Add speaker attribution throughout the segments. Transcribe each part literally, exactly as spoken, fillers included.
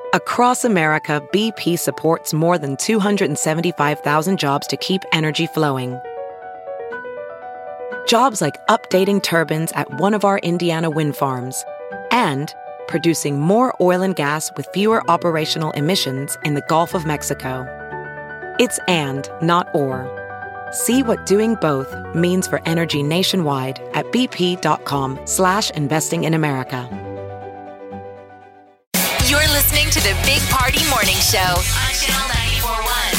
Speaker 1: Across America, B P supports more than two hundred seventy-five thousand jobs to keep energy flowing. Jobs like updating turbines at one of our Indiana wind farms and producing more oil and gas with fewer operational emissions in the Gulf of Mexico. It's and, not or. See what doing both means for energy nationwide at bp.com slash investing in America.
Speaker 2: You're listening to the Big Party Morning Show on Channel ninety-four point one.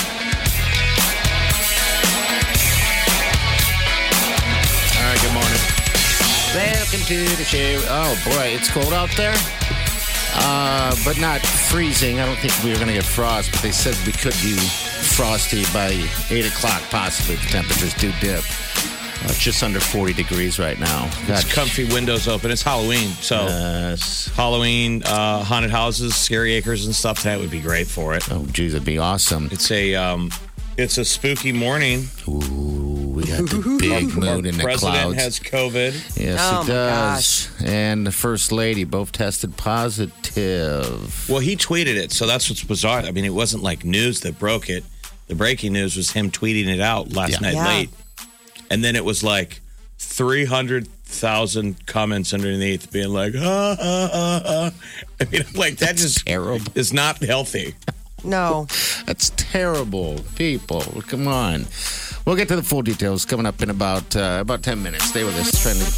Speaker 3: All right, good morning. Welcome to the show. Oh, boy, it's cold out there. Uh, but not freezing. I don't think we were going to get frost, but they said we could be frosty by eight o'clock, possibly. The temperatures do dip. Uh, just under forty degrees right now.
Speaker 4: It's God. Comfy windows open. It's Halloween. So
Speaker 3: yes.
Speaker 4: Halloween, uh, haunted houses, scary acres and stuff. That would be great for it.
Speaker 3: Oh, geez, it'd be awesome.
Speaker 4: It's a um, it's a spooky morning.
Speaker 3: Ooh, we got the big moon in the clouds.
Speaker 4: The president has COVID.
Speaker 3: Yes,
Speaker 5: oh,
Speaker 3: he does. And the first lady both tested positive.
Speaker 4: Well, he tweeted it, so that's what's bizarre. I mean, it wasn't like news that broke it. The breaking news was him tweeting it out last
Speaker 3: Yeah.
Speaker 4: night
Speaker 5: Yeah.
Speaker 4: late. And then it was like three hundred thousand comments underneath being like, ah, ah, ah, ah. I mean, I'm like, that
Speaker 3: That's
Speaker 4: just
Speaker 3: terrible.
Speaker 4: is not healthy.
Speaker 5: No.
Speaker 3: That's terrible, people. Come on. We'll get to the full details coming up in about uh, about ten minutes. Stay with us. Trending.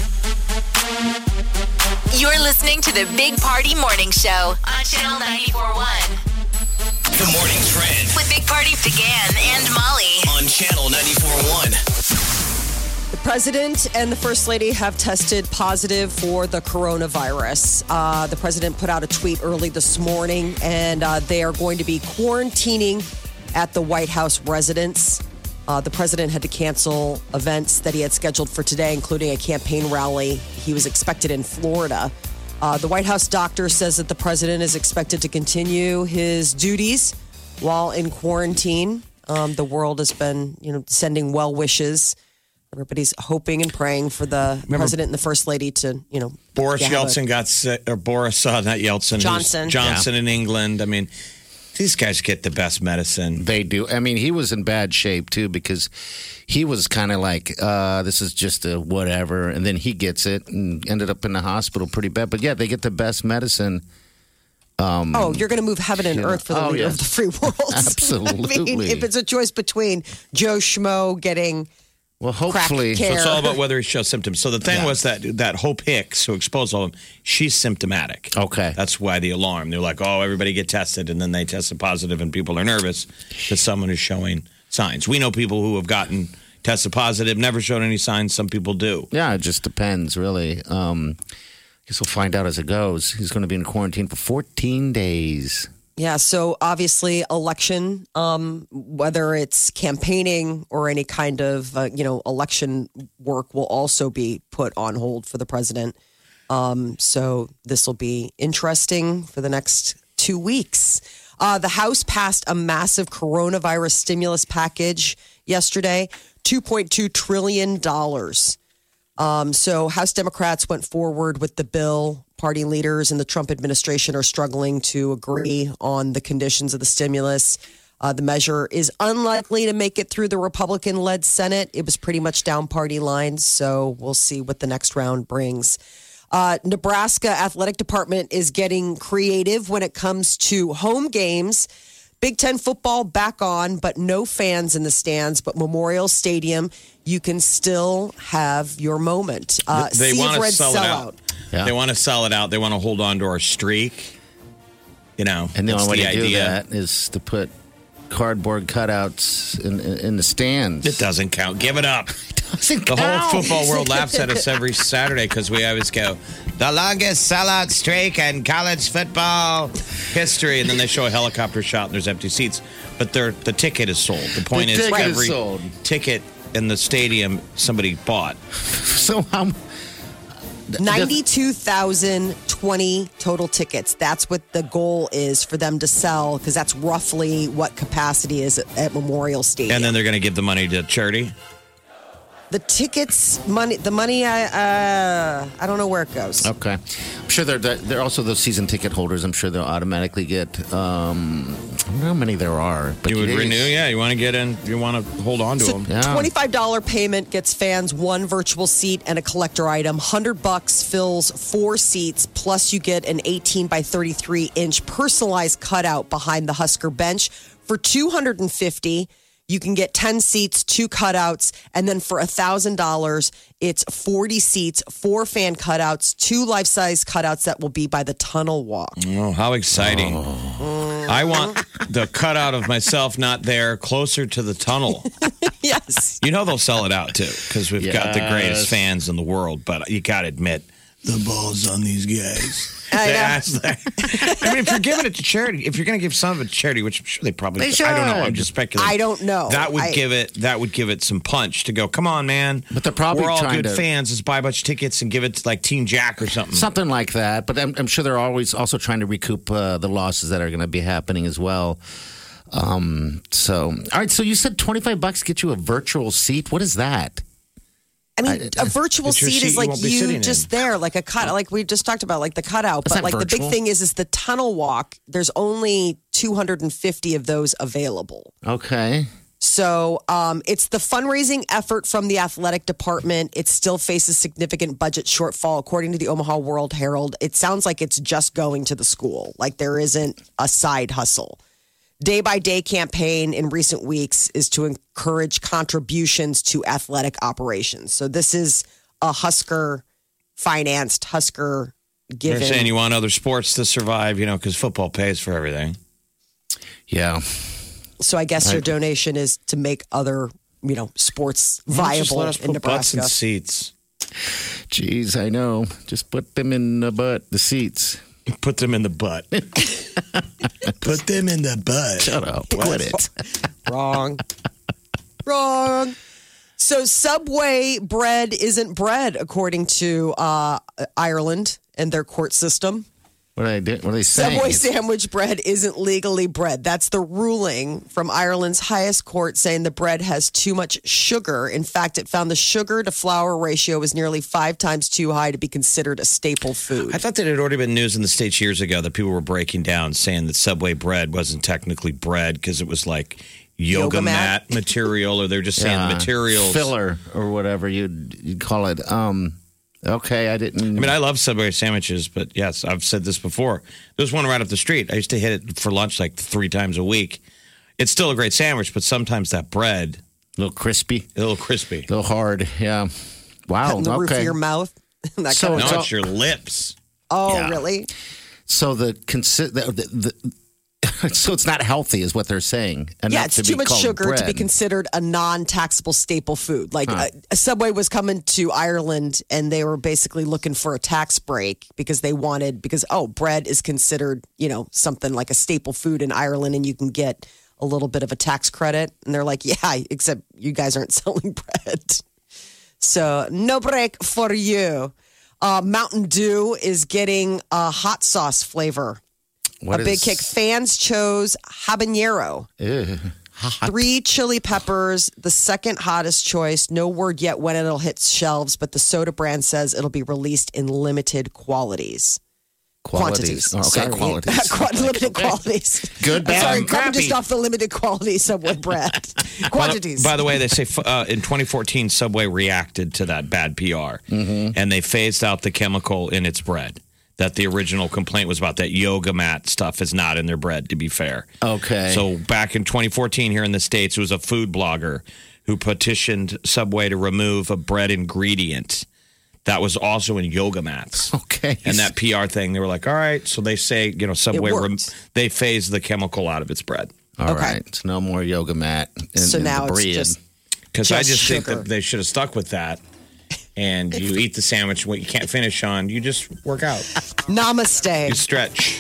Speaker 2: You're listening to the Big Party Morning Show on Channel ninety-four point one.
Speaker 6: The morning trend
Speaker 2: With Big Party began and Molly.
Speaker 6: on Channel ninety-four point one.
Speaker 5: The president and the first lady have tested positive for the coronavirus. Uh, the president put out a tweet early this morning, and uh, they are going to be quarantining at the White House residence. Uh, the president had to cancel events that he had scheduled for today, including a campaign rally he was expected in Florida. Uh, the White House doctor says that the president is expected to continue his duties while in quarantine. Um, the world has been, you know, sending well wishes. Everybody's hoping and praying for the
Speaker 4: Remember,
Speaker 5: president and the first lady to, you know,
Speaker 4: Boris
Speaker 5: have a-
Speaker 4: Yeltsin got sick, or Boris, uh, not Yeltsin. who's-
Speaker 5: Johnson.
Speaker 4: Johnson in England. I mean, these guys get the best medicine.
Speaker 3: They do. I mean, he was in bad shape, too, because he was kind of like, uh, this is just a whatever. And then he gets it and ended up in the hospital pretty bad. But, yeah, they get the best medicine. Um,
Speaker 5: Oh, you're going to move heaven and
Speaker 3: you know,
Speaker 5: earth for the
Speaker 3: oh,
Speaker 5: leader
Speaker 3: yeah.
Speaker 5: of the free world.
Speaker 3: Absolutely.
Speaker 5: I mean, if it's a choice between Joe Schmo getting
Speaker 3: Well, hopefully.
Speaker 5: crack care.
Speaker 4: So it's all about whether he shows symptoms. So the thing
Speaker 3: Yeah.
Speaker 4: was that that Hope Hicks, who exposed all of them, she's symptomatic.
Speaker 3: Okay.
Speaker 4: That's why the alarm. They're like, oh, everybody get tested, and then they tested positive, and people are nervous that someone is showing signs. We know people who have gotten tested positive, never showed any signs. Some people do.
Speaker 3: Yeah, it just depends, really. Um, I guess we'll find out as it goes. He's going to be in quarantine for fourteen days.
Speaker 5: Yeah, so obviously election, um, whether it's campaigning or any kind of, uh, you know, election work will also be put on hold for the president. Um, so this will be interesting for the next two weeks. Uh, the House passed a massive coronavirus stimulus package yesterday, two point two trillion dollars. Um, so House Democrats went forward with the bill. Party leaders in the Trump administration are struggling to agree on the conditions of the stimulus. Uh, the measure is unlikely to make it through the Republican-led Senate. It was pretty much down party lines, so we'll see what the next round brings. Uh, Nebraska Athletic Department is getting creative when it comes to home games. Big Ten football back on, but no fans in the stands. But Memorial Stadium, you can still have your moment. Uh,
Speaker 4: they
Speaker 5: Sea
Speaker 4: want
Speaker 5: of
Speaker 4: to
Speaker 5: Red
Speaker 4: sell it
Speaker 5: sellout.
Speaker 4: out.
Speaker 3: Yeah.
Speaker 4: They want to sell it out. They want to hold on to our streak. You know,
Speaker 3: And the
Speaker 4: that's
Speaker 3: only way
Speaker 4: the
Speaker 3: to do
Speaker 4: idea.
Speaker 3: that is to put cardboard cutouts in, in, in the stands.
Speaker 4: It doesn't count. Give it up.
Speaker 3: doesn't
Speaker 4: The
Speaker 3: count.
Speaker 4: whole football world laughs at us every Saturday because we always go, the longest sellout streak in college football history. And then they show a helicopter shot and there's empty seats. But they're, the ticket is sold. The point
Speaker 3: The
Speaker 4: is,
Speaker 3: ticket is
Speaker 4: every
Speaker 3: sold.
Speaker 4: ticket in the stadium somebody bought.
Speaker 3: So how?
Speaker 5: ninety-two thousand twenty total tickets. That's what the goal is for them to sell, because that's roughly what capacity is at, at Memorial Stadium.
Speaker 4: And then they're going to give the money to charity.
Speaker 5: The tickets, money, the money, I, uh, I don't know where it goes.
Speaker 3: Okay. I'm sure they're, they're also those season ticket holders. I'm sure they'll automatically get, um, I don't know how many there are. But
Speaker 4: You would
Speaker 3: it is-
Speaker 4: renew, yeah. You want to get in, you want to hold on to
Speaker 5: So
Speaker 4: them.
Speaker 3: Yeah.
Speaker 5: twenty-five dollars payment gets fans one virtual seat and a collector item. one hundred bucks fills four seats, plus you get an eighteen by thirty-three inch personalized cutout behind the Husker bench. For two hundred fifty dollars, you can get ten seats, two cutouts, and then for one thousand dollars, it's forty seats, four fan cutouts, two life-size cutouts that will be by the tunnel walk.
Speaker 4: Oh, how exciting. I want the cutout of myself not there, closer to the tunnel.
Speaker 5: Yes.
Speaker 4: You know they'll sell it out, too, because we've got the greatest
Speaker 3: Yes.
Speaker 4: fans in the world. But you got to admit, the ball's on these guys.
Speaker 5: I
Speaker 4: They
Speaker 5: know.
Speaker 4: ask that. I mean, if you're giving it to charity, if you're going to give some of it to charity, which I'm sure they probably
Speaker 3: They
Speaker 4: I don't know. I'm
Speaker 3: should.
Speaker 4: just speculating.
Speaker 5: I don't know.
Speaker 4: That would
Speaker 5: I-
Speaker 4: give it. That would give it some punch to go. Come on, man.
Speaker 3: But they're probably
Speaker 4: we're all
Speaker 3: trying
Speaker 4: good
Speaker 3: to-
Speaker 4: fans. Let's buy a bunch of tickets and give it to like Team Jack or something.
Speaker 3: Something like that. But I'm, I'm sure they're always also trying to recoup uh, the losses that are going to be happening as well. Um, so, all right. So you said twenty-five bucks get you a virtual seat. What is that?
Speaker 5: I mean, a virtual
Speaker 4: It's your
Speaker 5: seat
Speaker 4: seat
Speaker 5: is
Speaker 4: you
Speaker 5: like
Speaker 4: won't be
Speaker 5: you
Speaker 4: sitting
Speaker 5: just
Speaker 4: in.
Speaker 5: there, like a cut, like we just talked about, like the cutout.
Speaker 3: Is
Speaker 5: But
Speaker 3: that
Speaker 5: like the big
Speaker 3: virtual?
Speaker 5: thing is, is the tunnel walk. There's only two hundred fifty of those available.
Speaker 3: Okay.
Speaker 5: So um, it's the fundraising effort from the athletic department. It still faces significant budget shortfall, according to the Omaha World Herald. It sounds like it's just going to the school, like there isn't a side hustle. Day by day campaign in recent weeks is to encourage contributions to athletic operations. So this is a Husker financed, Husker
Speaker 4: They're
Speaker 5: given.
Speaker 4: saying you want other sports to survive, you know, because football pays for everything.
Speaker 3: Yeah.
Speaker 5: So I guess your donation is to make other, you know, sports
Speaker 4: Why don't you just
Speaker 5: viable
Speaker 4: let us
Speaker 5: in
Speaker 4: put butts
Speaker 5: Nebraska.
Speaker 4: in seats.
Speaker 3: Jeez, I know. Just put them in the butt, the seats.
Speaker 4: Put them in the butt. Put them in the butt.
Speaker 3: Shut up. Quit it.
Speaker 5: Wrong. Wrong. So Subway bread isn't bread, according to uh, Ireland and their court system.
Speaker 3: What are they, what are they saying?
Speaker 5: Subway
Speaker 3: It's-
Speaker 5: sandwich bread isn't legally bread. That's the ruling from Ireland's highest court, saying the bread has too much sugar. In fact, it found the sugar to flour ratio was nearly five times too high to be considered a staple food.
Speaker 4: I thought that it had already been news in the States years ago that people were breaking down saying that Subway bread wasn't technically bread because it was like yoga,
Speaker 5: Yoga
Speaker 4: mat.
Speaker 5: mat.
Speaker 4: material, or they're just saying
Speaker 3: Yeah,
Speaker 4: the materials.
Speaker 3: filler or whatever you'd, you'd call it. Um, okay, I didn't.
Speaker 4: I mean, I love Subway sandwiches, but yes, I've said this before. There's one right up the street. I used to hit it for lunch like three times a week. It's still a great sandwich, but sometimes that bread,
Speaker 3: a little crispy,
Speaker 4: a little crispy.
Speaker 3: a little hard. Yeah. Wow.
Speaker 5: in the roof of
Speaker 3: okay.
Speaker 5: your mouth. that
Speaker 3: So
Speaker 5: kind
Speaker 4: No,
Speaker 5: of,
Speaker 3: it's all-
Speaker 4: it's your lips.
Speaker 5: oh,
Speaker 3: yeah.
Speaker 5: really?
Speaker 3: So the, consi- the, the, the so it's not healthy, is what they're saying. Enough
Speaker 5: Yeah, it's
Speaker 3: to
Speaker 5: too
Speaker 3: be
Speaker 5: much
Speaker 3: called
Speaker 5: sugar to be
Speaker 3: bread.
Speaker 5: considered a non-taxable staple food. Like
Speaker 3: Huh.
Speaker 5: uh, Subway was coming to Ireland and they were basically looking for a tax break because they wanted because oh, bread is considered, you know, something like a staple food in Ireland and you can get a little bit of a tax credit. And they're like, "Yeah, except you guys aren't selling bread." So, no break for you. Uh, Mountain Dew is getting a hot sauce flavor.
Speaker 3: What
Speaker 5: a big
Speaker 3: is-
Speaker 5: kick. Fans chose habanero.
Speaker 3: Ew.
Speaker 5: Three chili peppers, the second hottest choice. No word yet when it'll hit shelves, but the soda brand says it'll be released in limited qualities.
Speaker 3: Qualities.
Speaker 5: Quantities.
Speaker 3: Oh, okay,
Speaker 5: Sorry.
Speaker 3: qualities.
Speaker 5: Quant- limited qualities.
Speaker 3: Good,
Speaker 5: I'm
Speaker 3: bad,
Speaker 5: sorry,
Speaker 3: and
Speaker 5: coming
Speaker 3: crappy.
Speaker 5: just off the limited quality Subway bread.
Speaker 4: By
Speaker 5: Quantities.
Speaker 4: the, by the way, they say uh, in twenty fourteen, Subway reacted to that bad P R,
Speaker 3: Mm-hmm.
Speaker 4: and they phased out the chemical in its bread. That the original complaint was about that yoga mat stuff is not in their bread, to be fair.
Speaker 3: Okay.
Speaker 4: So back in twenty fourteen here in the States, it was a food blogger who petitioned Subway to remove a bread ingredient that was also in yoga mats.
Speaker 3: Okay.
Speaker 4: And that P R thing, they were like, all right. So they say, you know, Subway,
Speaker 5: worked.
Speaker 4: rem- they phased the chemical out of its bread.
Speaker 3: All
Speaker 5: Okay.
Speaker 3: right. So no more yoga mat. In,
Speaker 5: so
Speaker 3: in
Speaker 5: now
Speaker 3: the
Speaker 5: it's
Speaker 3: bread.
Speaker 5: just
Speaker 4: Because I
Speaker 5: Just
Speaker 4: just think
Speaker 5: sugar.
Speaker 4: that they should have stuck with that. And you eat the sandwich, what you can't finish on, you just work out. You
Speaker 5: namaste.
Speaker 4: stretch.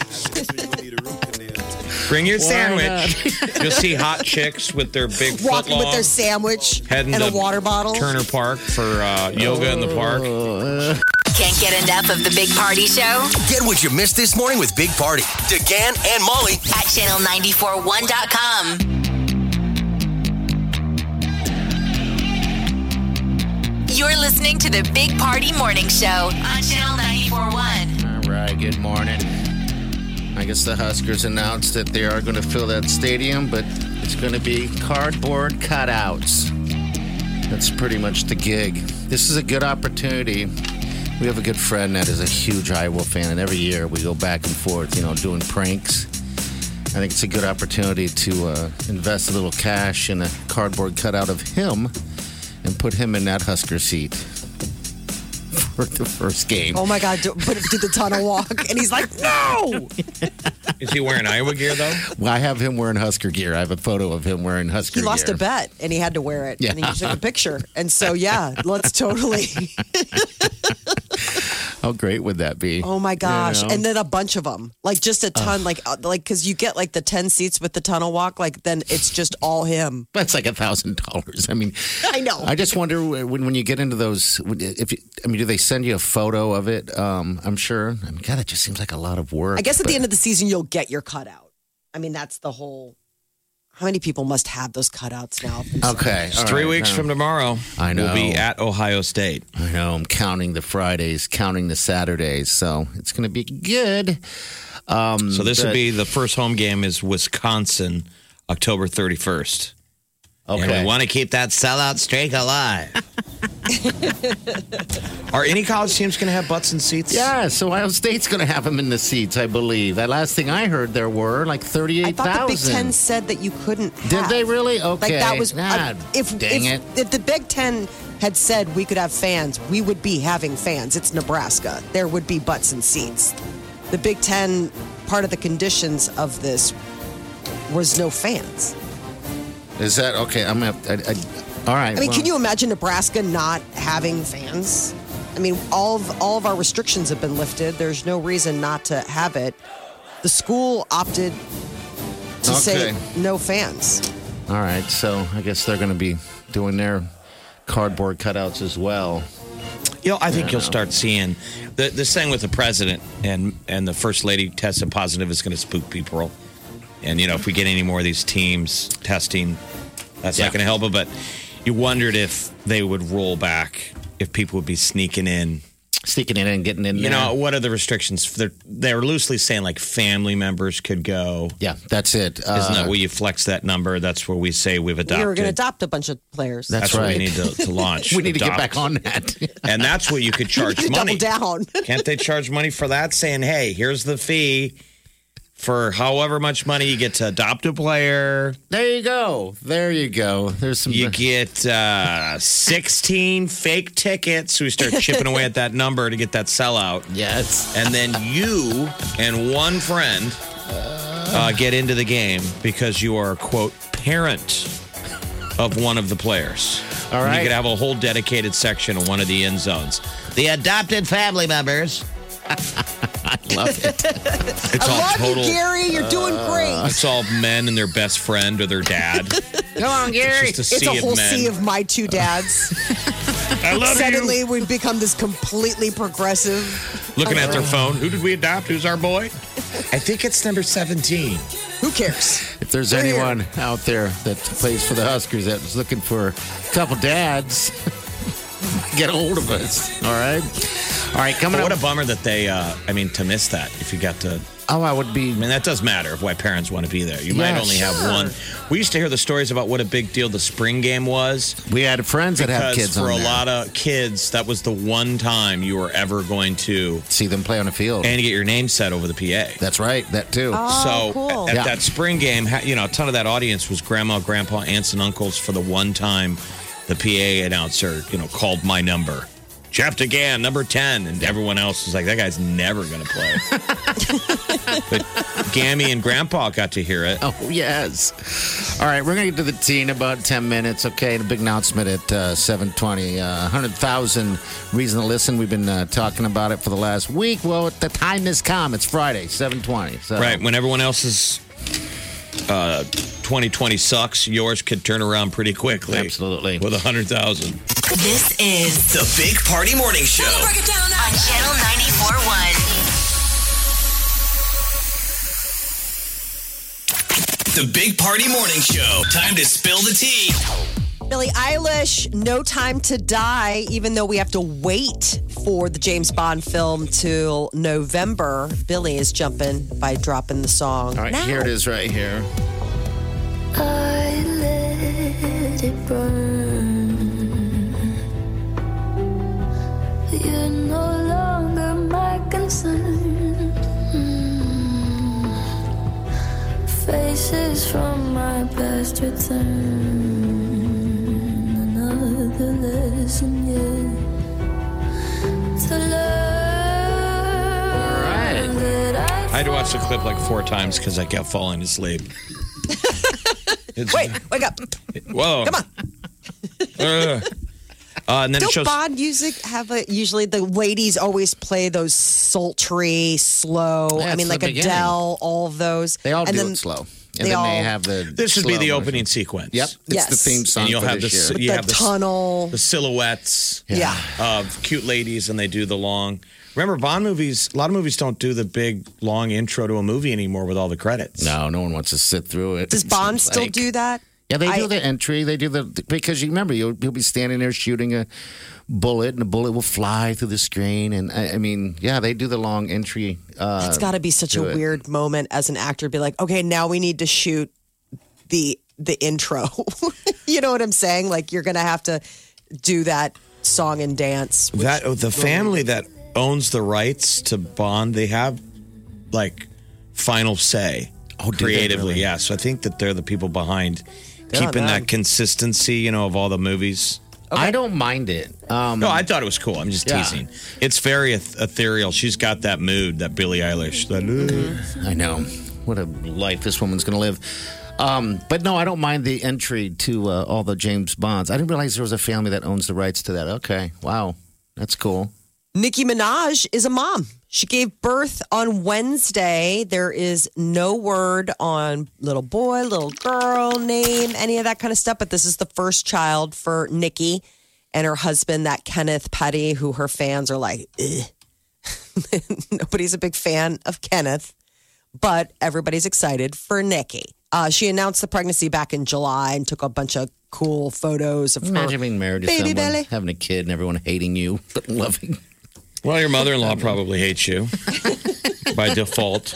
Speaker 4: Bring your sandwich. You'll see hot chicks with their big foot
Speaker 5: Walking with
Speaker 4: long,
Speaker 5: their sandwich
Speaker 4: heading
Speaker 5: and a
Speaker 4: to
Speaker 5: water bottle.
Speaker 4: Turner Park for uh, yoga in the park.
Speaker 2: Can't get enough of the Big Party Show
Speaker 6: Get what you missed this morning with Big Party, DeGan and Molly.
Speaker 2: at channel nine four one dot com. You're listening to the Big Party Morning Show on Channel ninety-four point one.
Speaker 3: All right, good morning. I guess the Huskers announced that they are going to fill that stadium, but it's going to be cardboard cutouts. That's pretty much the gig. This is a good opportunity. We have a good friend that is a huge Iowa fan, and every year we go back and forth, you know, doing pranks. I think it's a good opportunity to uh, invest a little cash in a cardboard cutout of him and put him in that Husker seat for the first game.
Speaker 5: Oh my God, do, put it, do the tunnel walk. And he's like, no!
Speaker 4: Is he wearing Iowa gear, though?
Speaker 3: Well, I have him wearing Husker gear. I have a photo of him wearing Husker
Speaker 5: He
Speaker 3: gear.
Speaker 5: lost a bet and he had to wear it.
Speaker 3: Yeah.
Speaker 5: And he took a picture. And so, yeah, let's totally.
Speaker 3: How great would that be?
Speaker 5: Oh my gosh.
Speaker 3: You know?
Speaker 5: And then a bunch of them. Like just a ton, like, uh, like, cause you get like the ten seats with the tunnel walk, like then it's just all him.
Speaker 3: That's like a thousand dollars. I mean,
Speaker 5: I know.
Speaker 3: I just wonder when when you get into those. If you, I mean, do they send you a photo of it? Um, I'm sure. I mean, God, it just seems like a lot of work.
Speaker 5: I guess at
Speaker 3: but-
Speaker 5: the end of the season, you'll get your cutout. I mean, that's the whole. How many people must have those cutouts now?
Speaker 3: Okay,
Speaker 4: It's
Speaker 3: all
Speaker 4: three
Speaker 3: right,
Speaker 4: weeks
Speaker 3: now-
Speaker 4: from tomorrow.
Speaker 3: I know.
Speaker 4: We'll be at Ohio State.
Speaker 3: I know. I'm counting the Fridays, counting the Saturdays, so it's going to be good. Um,
Speaker 4: So this
Speaker 3: but-
Speaker 4: would be the first home game is Wisconsin, October thirty-first.
Speaker 3: okay.
Speaker 4: And we want to keep that sellout streak alive. Are any college teams going to have butts in seats?
Speaker 3: Yeah, so Ohio State's going to have them in the seats, I believe. That last thing I heard, there were like
Speaker 5: I
Speaker 3: thirty-eight
Speaker 5: thought the Big
Speaker 3: thousand.
Speaker 5: Ten said that you couldn't.
Speaker 3: Did
Speaker 5: have.
Speaker 3: they really? Okay.
Speaker 5: Like that was.
Speaker 3: Nah,
Speaker 5: uh, if
Speaker 3: dang
Speaker 5: if,
Speaker 3: it.
Speaker 5: if the Big Ten had said we could have fans, we would be having fans. It's Nebraska. There would be butts and seats. The Big Ten, part of the conditions of this was no fans.
Speaker 3: Is that okay? I'm going to. I, I, all right.
Speaker 5: I mean,
Speaker 3: well,
Speaker 5: can you imagine Nebraska not having fans? I mean, all of all of our restrictions have been lifted. There's no reason not to have it. The school opted to say
Speaker 3: Okay.
Speaker 5: no fans.
Speaker 3: All right, so I guess they're going to be doing their cardboard cutouts as well.
Speaker 4: You know, I think you'll start seeing the, this thing with the president and, and the first lady tested positive is going to spook people. And, you know, if we get any more of these teams testing, that's
Speaker 3: Yeah.
Speaker 4: not going to help it. But you wondered if they would roll back, if people would be sneaking in.
Speaker 3: Sneaking in and getting in
Speaker 4: You
Speaker 3: there.
Speaker 4: know, what are the restrictions? They're, they're loosely saying like family members could go.
Speaker 3: Yeah, that's it.
Speaker 4: Isn't
Speaker 3: Uh,
Speaker 4: that where you flex that number? That's where we say we've
Speaker 5: We
Speaker 4: adopted.
Speaker 5: were going to adopt a bunch of players.
Speaker 3: That's
Speaker 4: That's what
Speaker 3: right.
Speaker 4: we need to, to launch.
Speaker 3: we need to get
Speaker 4: Adopt.
Speaker 3: back on that.
Speaker 4: And that's where you could charge
Speaker 5: You
Speaker 4: money.
Speaker 5: double down.
Speaker 4: Can't they charge money for that? Saying, hey, here's the fee for however much money you get to adopt a player.
Speaker 3: There you go. There you go. There's some.
Speaker 4: You get uh, sixteen fake tickets. We start chipping away at that number to get that sellout.
Speaker 3: Yes.
Speaker 4: And then you and one friend uh, get into the game because you are, quote, parent of one of the players.
Speaker 3: All
Speaker 4: And
Speaker 3: right.
Speaker 4: you could have a whole dedicated section in one of the end zones. The adopted family members.
Speaker 3: I love it.
Speaker 4: It's
Speaker 5: I
Speaker 4: all
Speaker 5: love
Speaker 4: total.
Speaker 5: you, Gary. You're doing great.
Speaker 4: It's all men and their best friend or their dad.
Speaker 3: Come on, Gary.
Speaker 4: It's just a
Speaker 5: It's
Speaker 4: sea
Speaker 5: a whole
Speaker 4: of men.
Speaker 5: sea of my two dads.
Speaker 4: I love
Speaker 5: Suddenly,
Speaker 4: you.
Speaker 5: we've become this completely progressive.
Speaker 4: Looking at their phone. Who did we adopt? Who's our boy? I think it's number seventeen.
Speaker 5: Who cares?
Speaker 3: If there's
Speaker 5: We're here.
Speaker 3: anyone out there that plays for the Huskers that's looking for a couple dads, get a hold of us. All right. All right. Coming
Speaker 4: But what
Speaker 3: up.
Speaker 4: a bummer that they, uh, I mean, to miss that if you got to.
Speaker 3: oh, I would be.
Speaker 4: I mean, that does matter why parents want to be there. You might
Speaker 3: Yeah,
Speaker 4: only have
Speaker 5: sure.
Speaker 4: one. We used to hear the stories about what a big deal the spring game was.
Speaker 3: We had friends that have
Speaker 4: Because
Speaker 3: kids
Speaker 4: for
Speaker 3: on
Speaker 4: a
Speaker 3: there.
Speaker 4: lot of kids, that was the one time you were ever going to
Speaker 3: See them play on the field.
Speaker 4: and get your name set over the P A.
Speaker 3: That's right. That too.
Speaker 5: Oh,
Speaker 4: So
Speaker 5: cool.
Speaker 4: at
Speaker 3: Yeah.
Speaker 4: that spring game, ha- you know, a ton of that audience was grandma, grandpa, aunts, and uncles for the one time the P A announcer, you know, called my number. Jeff DeGan, number ten. And everyone else was like, that guy's never going to play. But Gammy and Grandpa got to hear it.
Speaker 3: Oh, yes. All right, we're going to get to the tea in about ten minutes, okay? The big announcement at uh, seven twenty. Uh, one hundred thousand reason to listen. We've been uh, talking about it for the last week. Well, the time has come. It's Friday, seven twenty. So.
Speaker 4: Right. When everyone else's uh, twenty twenty sucks, yours could turn around pretty quickly.
Speaker 3: Absolutely.
Speaker 4: With one hundred thousand.
Speaker 2: This is
Speaker 6: The Big Party Morning Show.
Speaker 2: Break it down on Channel ninety-four point one.
Speaker 6: The Big Party Morning Show. Time to spill the tea.
Speaker 5: Billie Eilish, No Time to Die, even though we have to wait for the James Bond film till November. Billie is jumping by dropping the song.
Speaker 3: All right,
Speaker 5: now.
Speaker 3: here it is right here.
Speaker 7: I let it burn. You're no longer my concern. Mm. Faces from my past return. Another lesson yet to learn.
Speaker 3: All right.
Speaker 7: That I
Speaker 4: I had to watch the clip like four times because I kept falling asleep. It's,
Speaker 5: Wait, wake up.
Speaker 4: Whoa.
Speaker 5: Come on.
Speaker 4: Uh, uh, and then it
Speaker 5: Don't
Speaker 4: shows.
Speaker 5: Bond music have a, usually the ladies always play those sultry, slow,
Speaker 3: Yeah,
Speaker 5: I mean
Speaker 3: it's
Speaker 5: like
Speaker 3: the beginning.
Speaker 5: Adele, all of those.
Speaker 3: They all
Speaker 5: and
Speaker 3: do
Speaker 5: then
Speaker 3: it slow.
Speaker 5: they
Speaker 3: And then
Speaker 5: all-
Speaker 3: they have the.
Speaker 4: This should be
Speaker 3: slow
Speaker 4: the
Speaker 3: version.
Speaker 4: opening sequence.
Speaker 3: Yep. It's
Speaker 5: Yes.
Speaker 3: the theme song
Speaker 4: And you'll
Speaker 3: for
Speaker 4: have
Speaker 3: this
Speaker 4: this.
Speaker 3: year.
Speaker 5: With
Speaker 4: You
Speaker 5: the
Speaker 4: have the,
Speaker 5: tunnel.
Speaker 4: the silhouettes
Speaker 5: Yeah.
Speaker 4: of cute ladies, and they do the long. Remember, Bond movies. A lot of movies don't do the big long intro to a movie anymore with all the credits.
Speaker 3: No, no one wants to sit through it.
Speaker 5: Does
Speaker 3: It
Speaker 5: Bond
Speaker 3: seems
Speaker 5: still
Speaker 3: like-
Speaker 5: do that?
Speaker 3: Yeah, they do
Speaker 5: I-
Speaker 3: the entry. They do the because you remember you'll you'll be standing there shooting a bullet, and the bullet will fly through the screen. And I, I mean, yeah, they do the long entry. Uh,
Speaker 5: It's got to be such a
Speaker 3: do it.
Speaker 5: weird moment as an actor to be like, okay, now we need to shoot the the intro. You know what I'm saying? Like you're going to have to do that song and dance. which-
Speaker 4: That oh, the family that owns the rights to Bond, they have like final say
Speaker 3: Oh, do they
Speaker 4: creatively.
Speaker 3: really?
Speaker 4: Yeah, so I think that they're the people behind
Speaker 5: Good on
Speaker 4: keeping
Speaker 5: them.
Speaker 4: that consistency, you know, of all the movies.
Speaker 3: I don't mind it. Um,
Speaker 4: No, I thought it was cool. I'm just
Speaker 3: Yeah.
Speaker 4: teasing. It's very eth- ethereal. She's got that mood, that Billie Eilish. That, uh,
Speaker 3: I know what a life this woman's going to live. Um, but no, I don't mind the entry to uh, all the James Bonds. I didn't realize there was a family that owns the rights to that. Okay, wow, that's cool.
Speaker 5: Nicki Minaj is a mom. She gave birth on Wednesday. There is no word on little boy, little girl name, any of that kind of stuff. But this is the first child for Nicki and her husband, that Kenneth Petty, who her fans are like, ugh. Nobody's a big fan of Kenneth, but everybody's excited for Nicki. Uh, she announced the pregnancy back in July and took a bunch of cool photos of
Speaker 3: Imagine
Speaker 5: her
Speaker 3: being married to
Speaker 5: baby
Speaker 3: someone,
Speaker 5: belly.
Speaker 3: having a kid, and everyone hating you but loving.
Speaker 4: well, your mother-in-law probably hates you by default.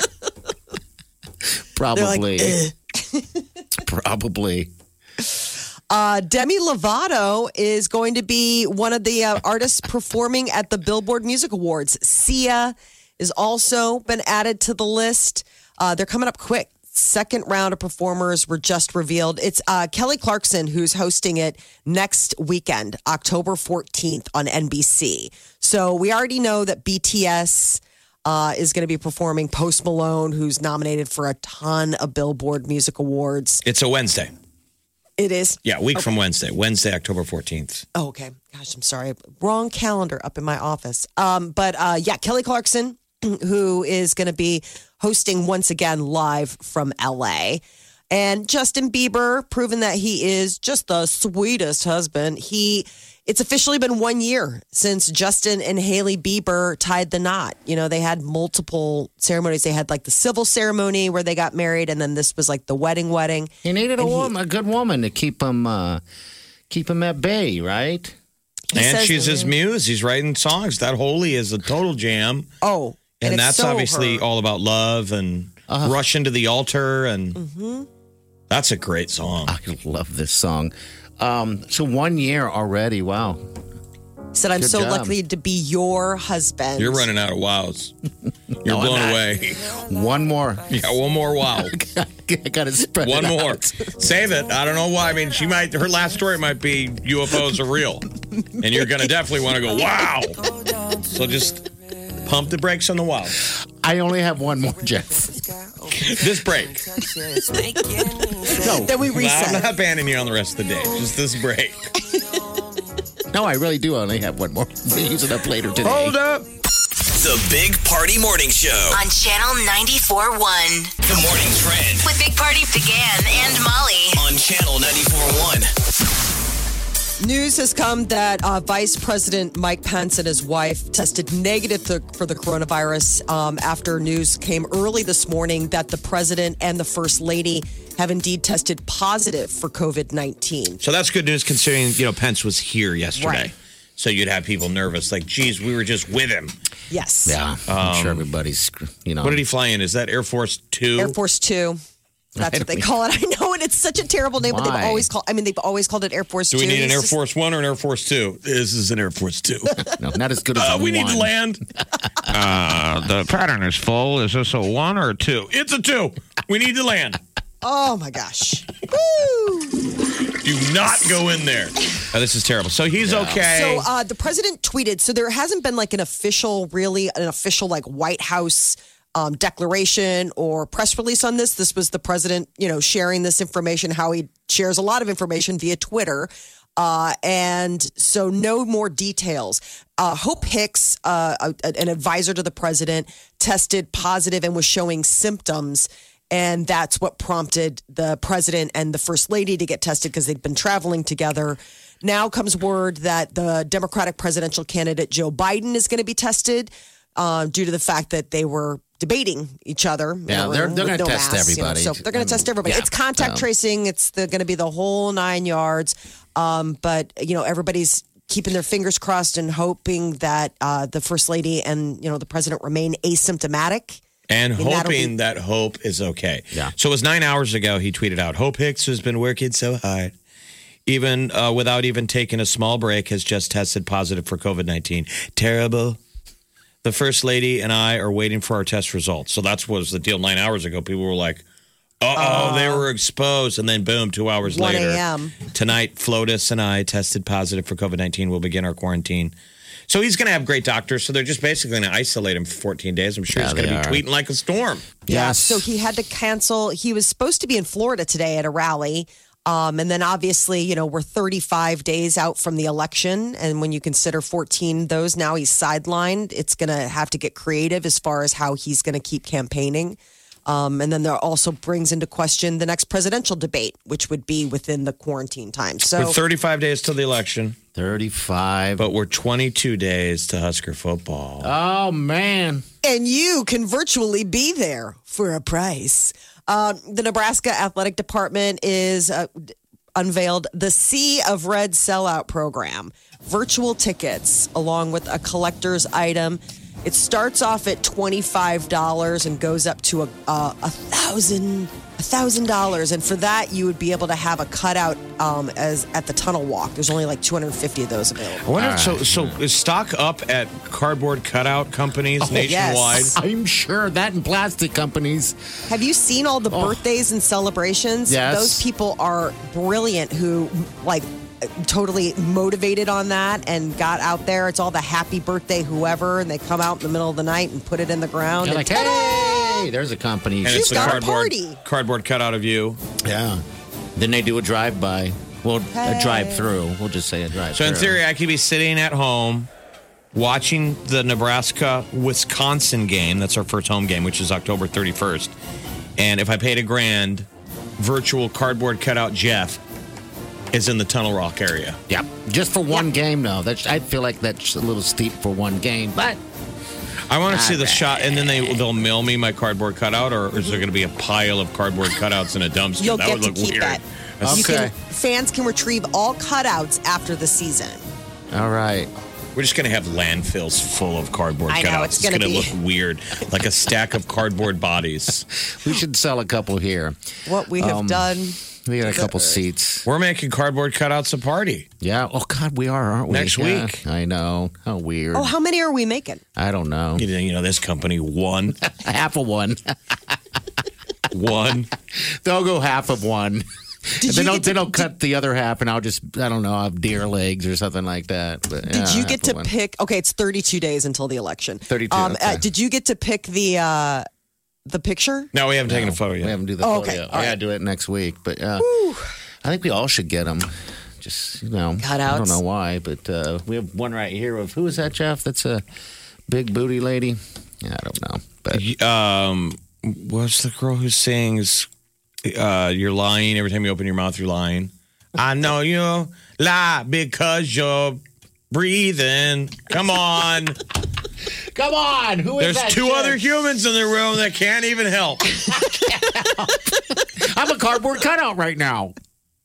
Speaker 3: Probably,
Speaker 5: They're
Speaker 3: probably.
Speaker 5: Uh, Demi Lovato is going to be one of the uh, artists performing at the Billboard Music Awards. Sia is also been added to the list. Uh, they're coming up quick. Second round of performers were just revealed. It's uh, Kelly Clarkson who's hosting it next weekend, October fourteenth on N B C. So we already know that B T S uh, is going to be performing. Post Malone, who's nominated for a ton of Billboard Music Awards.
Speaker 4: It's a Wednesday.
Speaker 5: It is.
Speaker 4: Yeah, a week from Wednesday. Wednesday, October fourteenth.
Speaker 5: Oh, okay. Gosh, I'm sorry. Wrong calendar up in my office. Um, but uh, yeah, Kelly Clarkson, who is going to be hosting once again live from L A. And Justin Bieber, proven that he is just the sweetest husband. He, it's officially been one year since Justin and Hailey Bieber tied the knot. You know, they had multiple ceremonies. They had like the civil ceremony where they got married, and then this was like the wedding wedding.
Speaker 3: He needed a
Speaker 5: And he-
Speaker 3: woman, a good woman, to keep him, uh, keep him at bay, right?
Speaker 5: He
Speaker 4: And
Speaker 5: says-
Speaker 4: she's his muse. He's writing songs. That Holy is a total jam.
Speaker 5: Oh,
Speaker 4: And,
Speaker 5: it's
Speaker 4: that's
Speaker 5: so
Speaker 4: obviously
Speaker 5: her.
Speaker 4: all about love and rush into the altar. And that's a great song.
Speaker 3: I love this song. Um, so one year already. Wow.
Speaker 5: He said, I'm
Speaker 3: Good
Speaker 5: so
Speaker 3: job.
Speaker 5: lucky to be your husband.
Speaker 4: You're running out of wows. You're
Speaker 3: No, I'm
Speaker 4: blown
Speaker 3: not.
Speaker 4: away.
Speaker 3: One more.
Speaker 4: Yeah, one more wow.
Speaker 3: I got to spread
Speaker 4: One
Speaker 3: it
Speaker 4: more.
Speaker 3: out.
Speaker 4: Save it. I don't know why. I mean, she might, her last story might be U F Os are real. And you're going to definitely want to go, wow. So just pump the brakes on the wow.
Speaker 3: I only have one more, Jeff.
Speaker 4: This break.
Speaker 3: No,
Speaker 5: Then we
Speaker 4: I'm
Speaker 5: reset.
Speaker 4: not banning you on the rest of the day. Just this break.
Speaker 3: no, I really do only have one more. We'll use it up later today.
Speaker 4: Hold up.
Speaker 6: The Big Party Morning Show.
Speaker 2: On Channel ninety-four point one.
Speaker 6: The morning trend
Speaker 2: With Big Party began and Molly.
Speaker 6: on Channel ninety-four point one.
Speaker 5: News has come that uh, Vice President Mike Pence and his wife tested negative to, for the coronavirus um, after news came early this morning that the president and the first lady have indeed tested positive for COVID nineteen.
Speaker 4: So that's good news considering, you know, Pence was here yesterday.
Speaker 5: Right.
Speaker 4: So you'd have people nervous, like, geez, we were just with him.
Speaker 5: Yes.
Speaker 3: Yeah, I'm sure everybody's, you know.
Speaker 4: What did he fly in? Is that Air Force Two?
Speaker 5: Air Force Two. That's what they call it. I know, and it's such a terrible name, but
Speaker 3: Why?
Speaker 5: they've always called. I mean, they've always called it Air Force
Speaker 4: Do
Speaker 5: Two.
Speaker 4: we need an
Speaker 5: It's
Speaker 4: Air
Speaker 5: just-
Speaker 4: Force One or an Air Force Two? This is an Air Force Two.
Speaker 3: No, not as good as
Speaker 4: Uh,
Speaker 3: a
Speaker 4: we need
Speaker 3: one.
Speaker 4: to land. uh, the pattern is full. Is this a one or a two? It's a two. We need to land.
Speaker 5: Oh my gosh! Woo!
Speaker 4: Do not go in there. Oh, this is terrible. So he's okay.
Speaker 5: So uh, the president tweeted. So there hasn't been like an official, really an official like White House um, declaration or press release on this. This was the president, you know, sharing this information. How he shares a lot of information via Twitter. Uh, and so no more details. Uh, Hope Hicks, uh, a, an advisor to the president, tested positive and was showing symptoms. And that's what prompted the president and the first lady to get tested because they'd been traveling together. Now comes word that the Democratic presidential candidate Joe Biden is going to be tested uh, due to the fact that they were debating each other.
Speaker 3: Yeah, they're- they're
Speaker 5: with
Speaker 3: gonna test
Speaker 5: masks, you know.
Speaker 3: everybody.
Speaker 5: So they're going to test everybody.
Speaker 3: Yeah.
Speaker 5: It's contact
Speaker 3: Um,
Speaker 5: tracing. It's going to be the whole nine yards. Um, but, you know, everybody's keeping their fingers crossed and hoping that uh, the first lady and, you know, the president remain asymptomatic.
Speaker 4: And
Speaker 5: And that'll
Speaker 4: hoping
Speaker 5: be-
Speaker 4: that Hope is okay.
Speaker 3: Yeah.
Speaker 4: So it was nine hours ago he tweeted out, Hope Hicks has been working so hard, even uh, without even taking a small break, has just tested positive for COVID nineteen. Terrible. The First Lady and I are waiting for our test results. So that was the deal nine hours ago. People were like, uh-oh, they were exposed. And then boom, two hours
Speaker 5: one
Speaker 4: later.
Speaker 5: a.m.
Speaker 4: Tonight, Flotus and I tested positive for COVID nineteen. We'll begin our quarantine. So he's going to have great doctors. So they're just basically going to isolate him for fourteen days. I'm sure
Speaker 3: Yeah,
Speaker 4: he's going to
Speaker 3: they
Speaker 4: be
Speaker 3: are.
Speaker 4: tweeting like a storm.
Speaker 3: Yes.
Speaker 5: So he had to cancel. He was supposed to be in Florida today at a rally. Um, and then obviously, you know, we're thirty-five days out from the election. And when you consider fourteen those, now he's sidelined. It's going to have to get creative as far as how he's going to keep campaigning. Um, and then there also brings into question the next presidential debate, which would be within the quarantine time. So
Speaker 4: We're thirty-five days till the election,
Speaker 3: thirty-five.
Speaker 4: but we're twenty-two days to Husker football.
Speaker 3: Oh, man.
Speaker 5: and you can virtually be there for a price. Um, the Nebraska Athletic Department is uh, unveiled the Sea of Red sellout program, virtual tickets along with a collector's item. It starts off at twenty-five dollars and goes up to a a, a thousand a thousand dollars, and for that you would be able to have a cutout um, as at the tunnel walk. There's only like two hundred fifty of those
Speaker 4: I
Speaker 5: available.
Speaker 4: wonder, if so, so is stock up at cardboard cutout companies nationwide?
Speaker 5: yes.
Speaker 3: I'm sure that and plastic companies.
Speaker 5: Have you seen all the birthdays and celebrations?
Speaker 3: Yes.
Speaker 5: Those people are brilliant who like totally motivated on that and got out there. It's all the happy birthday whoever, and they come out in the middle of the night and put it in the ground.
Speaker 3: You're
Speaker 5: and
Speaker 3: like,
Speaker 5: ta-da!
Speaker 3: hey, there's a company.
Speaker 4: And
Speaker 5: She's
Speaker 4: it's the
Speaker 5: got a
Speaker 4: cardboard,
Speaker 5: party.
Speaker 4: cardboard cutout of you.
Speaker 3: Yeah. Then they do a drive-by. Well, a drive-through. We'll just say a drive-through.
Speaker 4: So in theory, I could be sitting at home watching the Nebraska-Wisconsin game. That's our first home game, which is October thirty-first. And if I paid a grand, virtual cardboard cutout Jeff is in the Tunnel Rock area.
Speaker 3: Yep. Just for one game, though. That's, I feel like that's a little steep for one game. But
Speaker 4: I want to see the shot, and then they, they'll mail me my cardboard cutout, or is there going to be a pile of cardboard cutouts in a dumpster?
Speaker 5: You'll
Speaker 4: that
Speaker 5: get
Speaker 4: would
Speaker 5: to
Speaker 4: look
Speaker 5: keep
Speaker 4: weird.
Speaker 5: it.
Speaker 4: That's-
Speaker 5: You
Speaker 3: Okay.
Speaker 5: can, fans can retrieve all cutouts after the season.
Speaker 3: all right.
Speaker 4: We're just going to have landfills full of cardboard
Speaker 5: I know,
Speaker 4: cutouts.
Speaker 5: it's gonna
Speaker 4: going to
Speaker 5: be-
Speaker 4: look weird, like a stack of cardboard bodies.
Speaker 3: We should sell a couple here.
Speaker 5: What we have
Speaker 3: Um,
Speaker 5: done.
Speaker 3: We got a couple seats.
Speaker 4: We're making cardboard cutouts a party.
Speaker 3: Yeah. Oh, God, we are, aren't we?
Speaker 4: Next
Speaker 3: Yeah.
Speaker 4: week.
Speaker 3: I know. How weird.
Speaker 5: Oh, how many are we making?
Speaker 3: I don't know.
Speaker 4: You know, you know, this company, one,
Speaker 3: Half of one.
Speaker 4: one.
Speaker 3: They'll go half of one.
Speaker 5: Did
Speaker 3: then
Speaker 5: you
Speaker 3: they'll,
Speaker 5: get
Speaker 3: then
Speaker 5: to-
Speaker 3: they'll cut the other half, and I'll just, I don't know, I'll have deer legs or something like that. But,
Speaker 5: Did
Speaker 3: yeah,
Speaker 5: you
Speaker 3: half
Speaker 5: get
Speaker 3: of
Speaker 5: to
Speaker 3: one.
Speaker 5: pick? Okay, it's thirty-two days until the election.
Speaker 3: thirty-two,
Speaker 5: Um,
Speaker 3: okay.
Speaker 5: uh, did you get to pick the uh, the picture?
Speaker 4: No, we haven't taken a photo
Speaker 3: We
Speaker 4: yet.
Speaker 3: haven't do the
Speaker 5: Oh,
Speaker 3: photo
Speaker 5: okay.
Speaker 3: yet.
Speaker 5: All
Speaker 3: I
Speaker 5: right.
Speaker 3: gotta do it next week. But uh, I think we all should get them. Just, you know, I
Speaker 5: Cutouts.
Speaker 3: don't know why, but uh, we have one right here of, who is that, Jeff? That's a big booty lady. Yeah, I don't know. But
Speaker 4: Um, what's the girl who sings, uh, you're lying, every time you open your mouth, you're lying? I know you la because you're breathing. Come on.
Speaker 3: Come on. Who is
Speaker 4: There's
Speaker 3: that
Speaker 4: two
Speaker 3: chick?
Speaker 4: other humans in the room that can't even help.
Speaker 3: I'm a cardboard cutout right now.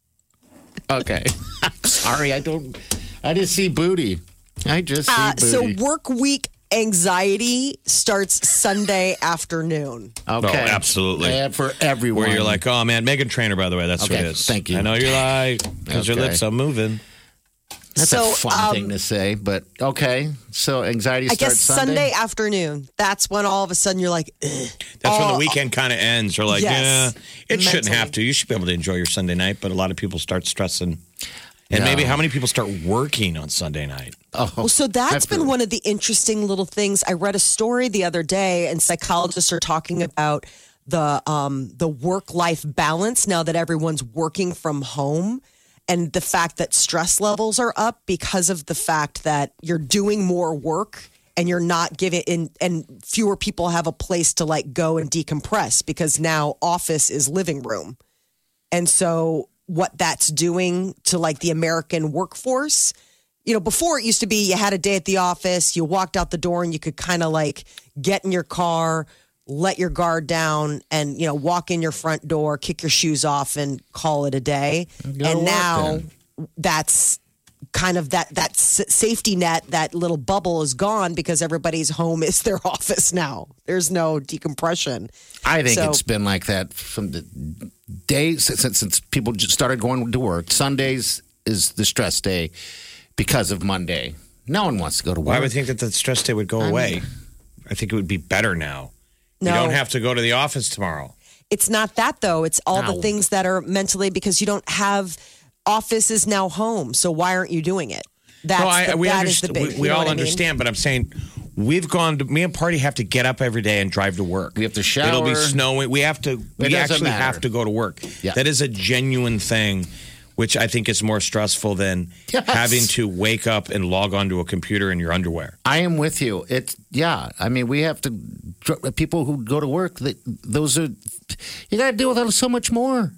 Speaker 3: Okay. Sorry, I don't. I just see booty. I just see
Speaker 5: Uh, so
Speaker 3: booty.
Speaker 5: work week anxiety starts Sunday afternoon.
Speaker 3: Okay.
Speaker 4: Oh, absolutely.
Speaker 3: Yeah, for everyone.
Speaker 4: Where you're like, oh man, Megan Trainor, by the way, that's
Speaker 3: Okay,
Speaker 4: what it is.
Speaker 3: thank you.
Speaker 4: I know you're like, because your
Speaker 3: Okay.
Speaker 4: lips are moving.
Speaker 3: That's
Speaker 5: so,
Speaker 3: a fun
Speaker 5: um,
Speaker 3: thing to say, but okay. So anxiety
Speaker 5: I
Speaker 3: starts
Speaker 5: guess Sunday?
Speaker 3: Sunday.
Speaker 5: afternoon. That's when all of a sudden you're like, Ugh.
Speaker 4: That's when
Speaker 5: Oh,
Speaker 4: the weekend kind of ends. You're like,
Speaker 5: Yes.
Speaker 4: yeah, it shouldn't
Speaker 5: Mentally.
Speaker 4: have to. You should be able to enjoy your Sunday night, but a lot of people start stressing. And
Speaker 3: Yeah.
Speaker 4: maybe how many people start working on Sunday night?
Speaker 3: Oh,
Speaker 5: Well, so that's
Speaker 3: I've
Speaker 5: been
Speaker 3: heard.
Speaker 5: one of the interesting little things. I read a story the other day, and psychologists are talking about the um, the work life balance now that everyone's working from home, and the fact that stress levels are up because of the fact that you're doing more work and you're not giving in, and fewer people have a place to like go and decompress because now office is living room, and so what that's doing to like the American workforce. You know, before it used to be you had a day at the office, you walked out the door and you could kind of like get in your car, let your guard down and, you know, walk in your front door, kick your shoes off and call it a day.
Speaker 3: Go to
Speaker 5: And
Speaker 3: work
Speaker 5: now
Speaker 3: then.
Speaker 5: that's kind of that that s- safety net, that little bubble is gone because everybody's home is their office now. There's no decompression.
Speaker 3: I think
Speaker 5: So-
Speaker 3: it's been like that from the days since, since people just started going to work. Sundays is the stress day because of Monday. No one wants to go to work.
Speaker 4: Well, I would think that the stress day would go away. I think it would be better now.
Speaker 5: No.
Speaker 4: You don't have to go to the office tomorrow.
Speaker 5: It's not that though. It's all
Speaker 3: No.
Speaker 5: the things that are mentally because you don't have office is now home. So why aren't you doing it? That's
Speaker 4: no, I,
Speaker 5: the,
Speaker 4: we
Speaker 5: that is
Speaker 4: understand.
Speaker 5: the big.
Speaker 4: we we
Speaker 5: you know
Speaker 4: all
Speaker 5: what I mean?
Speaker 4: understand, but I'm saying we've gone to. Me and Party have to get up every day and drive to work.
Speaker 3: We have to shower.
Speaker 4: It'll be snowing. We have to. We
Speaker 3: doesn't
Speaker 4: actually
Speaker 3: matter.
Speaker 4: have to go to work.
Speaker 3: Yeah.
Speaker 4: That is a genuine thing, which I think is more stressful than
Speaker 3: Yes.
Speaker 4: having to wake up and log onto a computer in your underwear.
Speaker 3: I am with you. It's yeah. I mean, we have to. People who go to work, they, those are you got to deal with so much more.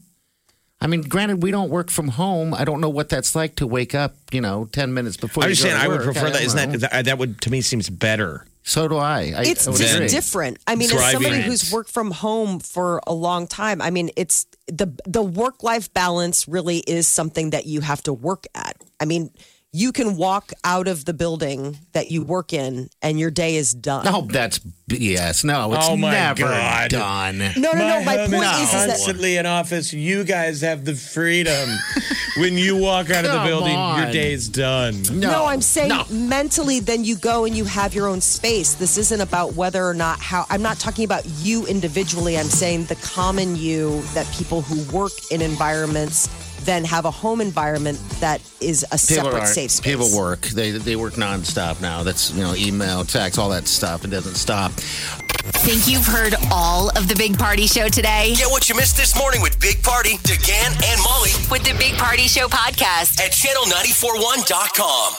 Speaker 3: I mean, granted, we don't work from home. I don't know what that's like to wake up, you know, ten minutes before.
Speaker 4: I'm
Speaker 3: you
Speaker 4: just
Speaker 3: go
Speaker 4: saying,
Speaker 3: to
Speaker 4: I would
Speaker 3: work.
Speaker 4: prefer
Speaker 3: I
Speaker 4: that.
Speaker 3: don't
Speaker 4: Isn't
Speaker 3: know.
Speaker 4: that, that that would to me seems better?
Speaker 3: So do I. I
Speaker 5: It's
Speaker 3: I would
Speaker 5: just
Speaker 3: agree.
Speaker 5: different. I mean, as
Speaker 4: Thriving.
Speaker 5: somebody who's worked from home for a long time, I mean, it's the the work life balance really is something that you have to work at. I mean, you can walk out of the building that you work in, and your day is done.
Speaker 3: No, that's B S. No, it's
Speaker 4: Oh, my
Speaker 3: never
Speaker 4: God.
Speaker 3: done.
Speaker 5: no, no, no. My
Speaker 4: home
Speaker 5: point
Speaker 4: is
Speaker 5: is, is that
Speaker 4: constantly in office. You guys have the freedom. When you walk out of the
Speaker 3: Come
Speaker 4: building, your
Speaker 3: on.
Speaker 4: day's done.
Speaker 5: No, I'm saying
Speaker 3: No.
Speaker 5: mentally, then you go and you have your own space. This isn't about whether or not how. I'm not talking about you individually. I'm saying the common you that people who work in environments then have a home environment that is a separate
Speaker 3: aren't-
Speaker 5: safe space.
Speaker 3: People work. They they work nonstop now. That's you know email, text, all that stuff. It doesn't stop.
Speaker 2: Think you've heard all of the Big Party Show today?
Speaker 6: Get what you missed this morning with Big Party, DeGan, and Molly
Speaker 2: With the Big Party Show podcast.
Speaker 6: at channel nine four one dot com.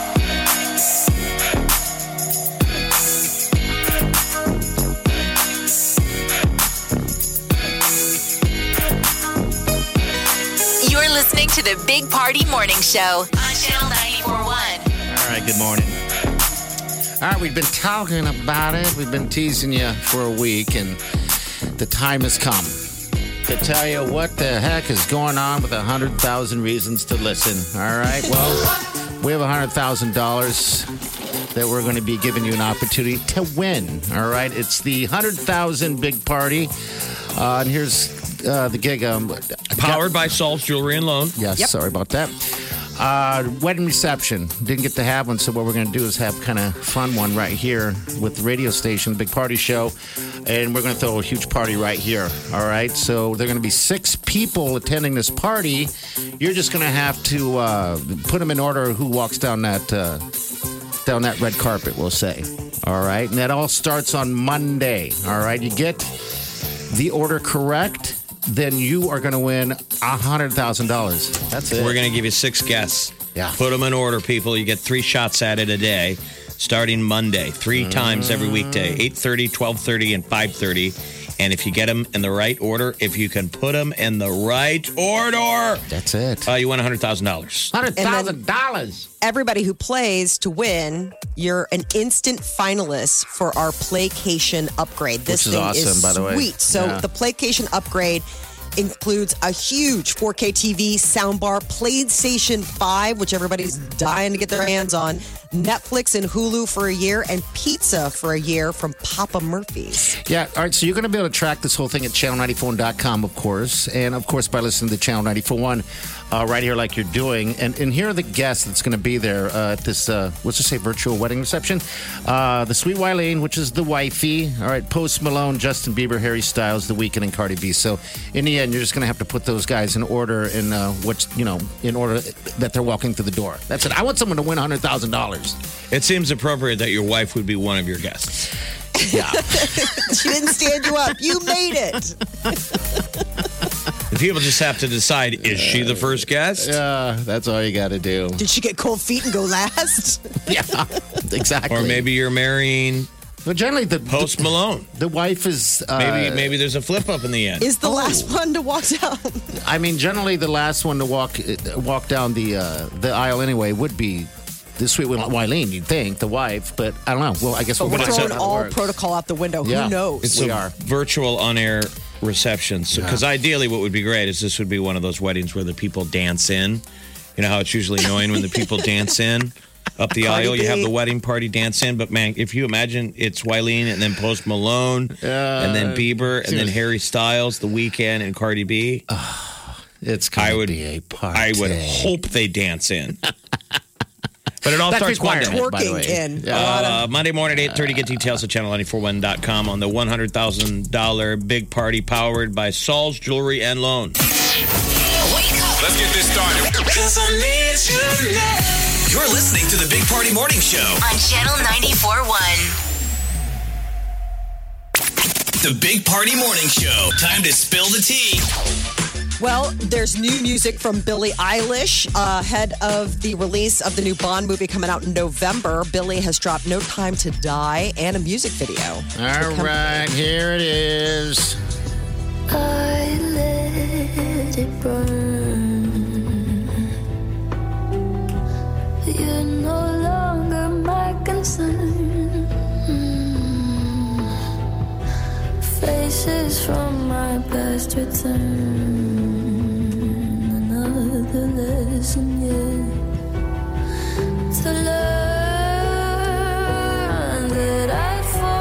Speaker 2: You're listening to the Big Party Morning Show on Channel ninety-four point one.
Speaker 3: All right. Good morning. All right. We've been talking about it. We've been teasing you for a week, and the time has come to tell you what the heck is going on with a hundred thousand reasons to listen. All right. Well, we have a hundred thousand dollars that we're going to be giving you an opportunity to win. All right. It's the hundred thousand big party, uh, and here's uh, the gig. Um,
Speaker 4: Powered by Salt's Jewelry and Loan.
Speaker 3: Yes, sorry about that. Uh, wedding reception. Didn't get to have one, so what we're going to do is have kind of fun one right here with the radio station, Big Party Show, and we're going to throw a huge party right here. All right, so there are going to be six people attending this party. You're just going to have to uh, put them in order who walks down that uh, down that red carpet. We'll say. All right, and that all starts on Monday. All right, you get the order correct, then you are going to win one hundred thousand dollars. That's it.
Speaker 4: We're going to give you six guests.
Speaker 3: Yeah.
Speaker 4: Put them in order, people. You get three shots at it a day, starting Monday, three times every weekday, eight thirty, twelve thirty, and five thirty. And if you get them in the right order, if you can put them in the right order,
Speaker 3: That's it.
Speaker 4: uh, you win one hundred thousand dollars.
Speaker 3: one hundred thousand dollars.
Speaker 5: Everybody who plays to win, you're an instant finalist for our Playcation upgrade. This
Speaker 3: Which is
Speaker 5: thing
Speaker 3: awesome, by the way.
Speaker 5: sweet. So
Speaker 3: Yeah.
Speaker 5: the Playcation upgrade includes a huge four K T V, soundbar, PlayStation five, which everybody's dying to get their hands on, Netflix and Hulu for a year, and pizza for a year from Papa Murphy's.
Speaker 3: Yeah, all right, so you're going to be able to track this whole thing at channel ninety-four one dot com, of course. And, of course, by listening to Channel ninety-four one uh, right here like you're doing. And, and here are the guests that's going to be there uh, at this, uh, let's just say, virtual wedding reception. Uh, the Sweet Wileen, which is the wifey. All right, Post Malone, Justin Bieber, Harry Styles, The Weeknd, and Cardi B. So, in the end, you're just going to have to put those guys in order in uh, what's, you know, in order that they're walking through the door. That's it. I want someone to win one hundred thousand dollars.
Speaker 4: It seems appropriate that your wife would be one of your guests.
Speaker 3: Yeah.
Speaker 5: She didn't stand you up. You made it.
Speaker 4: The people just have to decide, is she the first guest?
Speaker 3: Yeah, that's all you got to do.
Speaker 5: Did she get cold feet and go last?
Speaker 3: Yeah, exactly.
Speaker 4: Or maybe you're marrying
Speaker 3: But generally, the
Speaker 4: Post Malone.
Speaker 3: the wife is uh,
Speaker 4: Maybe maybe there's a flip up in the end.
Speaker 5: Is the last one to walk down?
Speaker 3: I mean, generally, the last one to walk walk down the uh, the aisle anyway would be the sweet Wileen. You'd think the wife, but I don't know. Well, I guess
Speaker 5: But
Speaker 3: we'll
Speaker 5: we're
Speaker 3: find
Speaker 5: throwing
Speaker 3: out how it
Speaker 5: all
Speaker 3: works.
Speaker 5: protocol out the window.
Speaker 3: Yeah.
Speaker 5: Who knows?
Speaker 4: It's
Speaker 3: We
Speaker 4: a
Speaker 3: are.
Speaker 4: virtual on-air reception. Because ideally, what would be great is this would be one of those weddings where the people dance in. You know how it's usually annoying when the people dance in up the
Speaker 5: Cardi
Speaker 4: aisle. You have
Speaker 5: B.
Speaker 4: the wedding party dance in, but man, if you imagine it's Wileen and then Post Malone and then Bieber and then Harry Styles, The Weeknd and Cardi B,
Speaker 3: It's
Speaker 4: I
Speaker 3: going
Speaker 4: would
Speaker 3: to be a party.
Speaker 4: I would hope they dance in. But it all
Speaker 3: That's
Speaker 4: starts
Speaker 3: required,
Speaker 4: Monday.
Speaker 3: by the way.
Speaker 5: Twerking in.
Speaker 3: Yeah.
Speaker 5: A lot of-
Speaker 4: Uh, Monday morning at eight thirty. Get details at channel ninety-four one dot com on the one hundred thousand dollars big party powered by Saul's Jewelry and Loan.
Speaker 2: Wake up
Speaker 6: Let's get this started. You're listening to the Big Party Morning Show.
Speaker 2: on Channel ninety-four point one.
Speaker 6: The Big Party Morning Show. Time to spill the tea.
Speaker 5: Well, there's new music from Billie Eilish uh, ahead of the release of the new Bond movie coming out in November. Billie has dropped No Time to Die and a music video.
Speaker 3: All right, here it is.
Speaker 7: I let it burn. You're no longer my concern. Faces from my past return. Another lesson yet to learn that I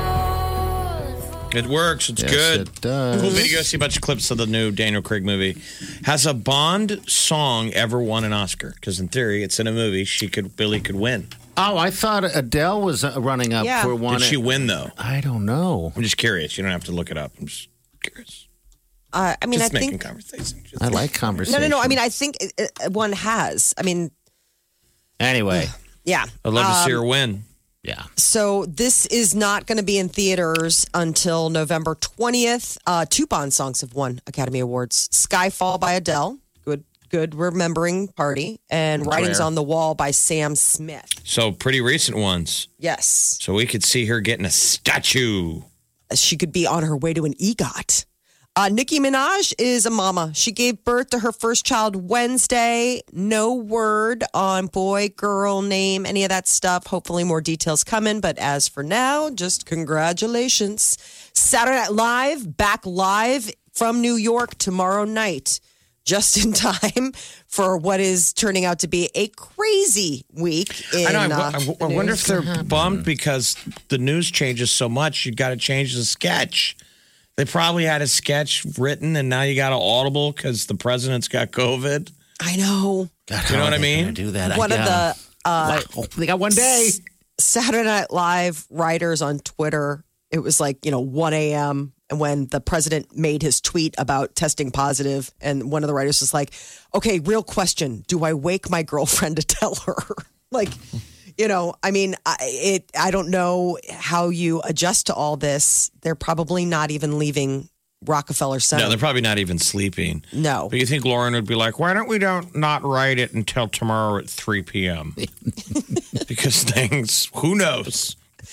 Speaker 7: fall.
Speaker 4: It works. It's
Speaker 3: Yes,
Speaker 4: good.
Speaker 3: it does.
Speaker 4: Cool video. See a bunch of clips of the new Daniel Craig movie. Has a Bond song ever won an Oscar? Because in theory, it's in a movie. She could, Billy could win.
Speaker 3: Oh, I thought Adele was uh, running up
Speaker 5: Yeah.
Speaker 3: for one.
Speaker 4: Did she win though?
Speaker 3: I don't know.
Speaker 4: I'm just curious. You don't have to look it up. I'm just curious.
Speaker 5: Uh, I mean,
Speaker 4: Just
Speaker 5: I
Speaker 4: making
Speaker 5: think.
Speaker 4: conversation. Just-
Speaker 3: I like conversation.
Speaker 5: No, no, no. I mean, I think uh, uh, one has. I mean,
Speaker 3: Anyway,
Speaker 5: yeah.
Speaker 4: I'd love to see
Speaker 5: Um,
Speaker 4: her win.
Speaker 3: yeah.
Speaker 5: So this is not going to be in theaters until November twentieth. Uh, two Bond songs have won Academy Awards. Skyfall by Adele. Good, good remembering party. And Writings
Speaker 4: Rare.
Speaker 5: on the Wall by Sam Smith.
Speaker 4: So pretty recent ones.
Speaker 5: Yes.
Speaker 4: So we could see her getting a statue.
Speaker 5: She could be on her way to an EGOT. Uh, Nicki Minaj is a mama. She gave birth to her first child Wednesday. No word on boy, girl, name, any of that stuff. Hopefully more details coming. But as for now, just congratulations. Saturday Night Live, back live from New York tomorrow night. Just in time for what is turning out to be a crazy week. In,
Speaker 4: I know. I,
Speaker 5: uh,
Speaker 4: I- I wonder if they're bummed because the news changes so much. You got to change the sketch. They probably had a sketch written, and now you got an audible because the president's got COVID.
Speaker 5: I know.
Speaker 3: God,
Speaker 4: You know
Speaker 3: how
Speaker 4: what
Speaker 3: are
Speaker 4: I
Speaker 3: they
Speaker 4: mean?
Speaker 3: gonna Do that.
Speaker 5: One
Speaker 3: I,
Speaker 5: of the uh,
Speaker 3: wow. They got one day.
Speaker 5: Saturday Night Live writers on Twitter, it was like, you know, one a.m. And when the president made his tweet about testing positive, and one of the writers was like, okay, real question. Do I wake my girlfriend to tell her? Like, you know, I mean, I, it. I don't know how you adjust to all this. They're probably not even leaving Rockefeller Center.
Speaker 4: No, they're probably not even sleeping.
Speaker 5: No.
Speaker 4: But you think Lauren would be like, why don't we don't not write it until tomorrow at three p.m.? Because things, who knows?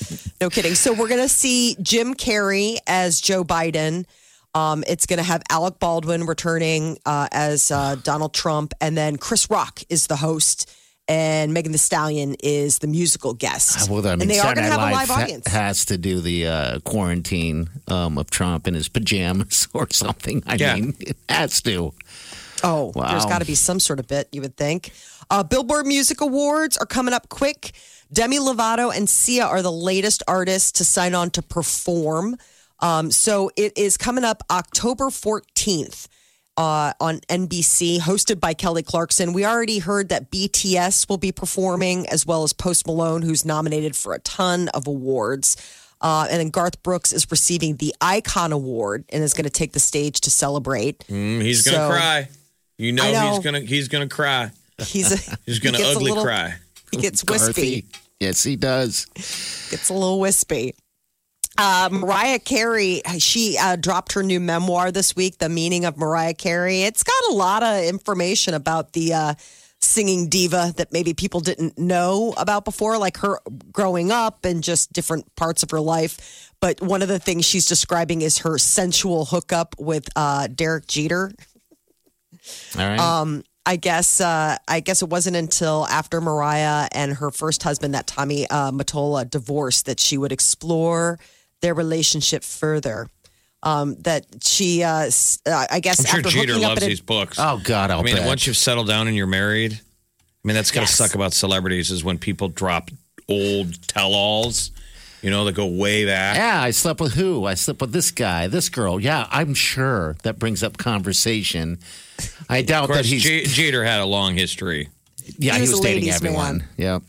Speaker 5: No kidding. So we're going to see Jim Carrey as Joe Biden. Um, it's going to have Alec Baldwin returning uh, as uh, Donald Trump. And then Chris Rock is the host. And Megan Thee Stallion is the musical guest.
Speaker 3: Well, I mean,
Speaker 5: and they are going to have a live
Speaker 3: ha-
Speaker 5: audience.
Speaker 3: has to do the uh, quarantine um, of Trump in his pajamas or something. I
Speaker 4: Yeah.
Speaker 3: mean, it has to.
Speaker 5: Oh,
Speaker 3: Wow.
Speaker 5: there's got to be some sort of bit, you would think. Uh, Billboard Music Awards are coming up quick. Demi Lovato and Sia are the latest artists to sign on to perform. Um, so it is coming up October fourteenth uh, on N B C, hosted by Kelly Clarkson. We already heard that B T S will be performing, as well as Post Malone, who's nominated for a ton of awards. Uh, and then Garth Brooks is receiving the Icon Award and is going to take the stage to celebrate.
Speaker 4: Mm, he's gonna
Speaker 5: So-
Speaker 4: cry. You know,
Speaker 5: I know.
Speaker 4: he's gonna he's gonna cry.
Speaker 5: He's a,
Speaker 4: He's gonna
Speaker 5: he gets a
Speaker 4: ugly
Speaker 5: little-
Speaker 4: cry.
Speaker 5: He gets wispy.
Speaker 3: Garthy. Yes, he does.
Speaker 5: Gets a little wispy. Uh, Mariah Carey, she uh, dropped her new memoir this week, The Meaning of Mariah Carey. It's got a lot of information about the uh, singing diva that maybe people didn't know about before, like her growing up and just different parts of her life. But one of the things she's describing is her sensual hookup with uh, Derek Jeter.
Speaker 3: All right.
Speaker 5: Um, I guess uh, I guess it wasn't until after Mariah and her first husband, that Tommy uh, Mottola, divorced, that she would explore their relationship further. Um, that she, uh, s- uh, I guess,
Speaker 4: I'm sure
Speaker 5: after
Speaker 4: Jeter
Speaker 5: hooking up
Speaker 4: loves
Speaker 5: at a,
Speaker 4: these books.
Speaker 3: oh, God, I'll
Speaker 4: I mean,
Speaker 3: bet.
Speaker 4: once you've settled down and you're married, I mean, that's got to
Speaker 5: Yes.
Speaker 4: suck about celebrities is when people drop old tell-alls, you know, that go way back.
Speaker 3: Yeah, I slept with who? I slept with this guy, this girl. Yeah, I'm sure that brings up conversation. I doubt
Speaker 4: Of course,
Speaker 3: that he's.
Speaker 4: J- Jeter had a long history.
Speaker 3: yeah,
Speaker 5: he
Speaker 3: he
Speaker 5: was
Speaker 3: was,
Speaker 5: a
Speaker 3: dating
Speaker 5: ladies'
Speaker 3: everyone.
Speaker 5: man.
Speaker 3: Yep.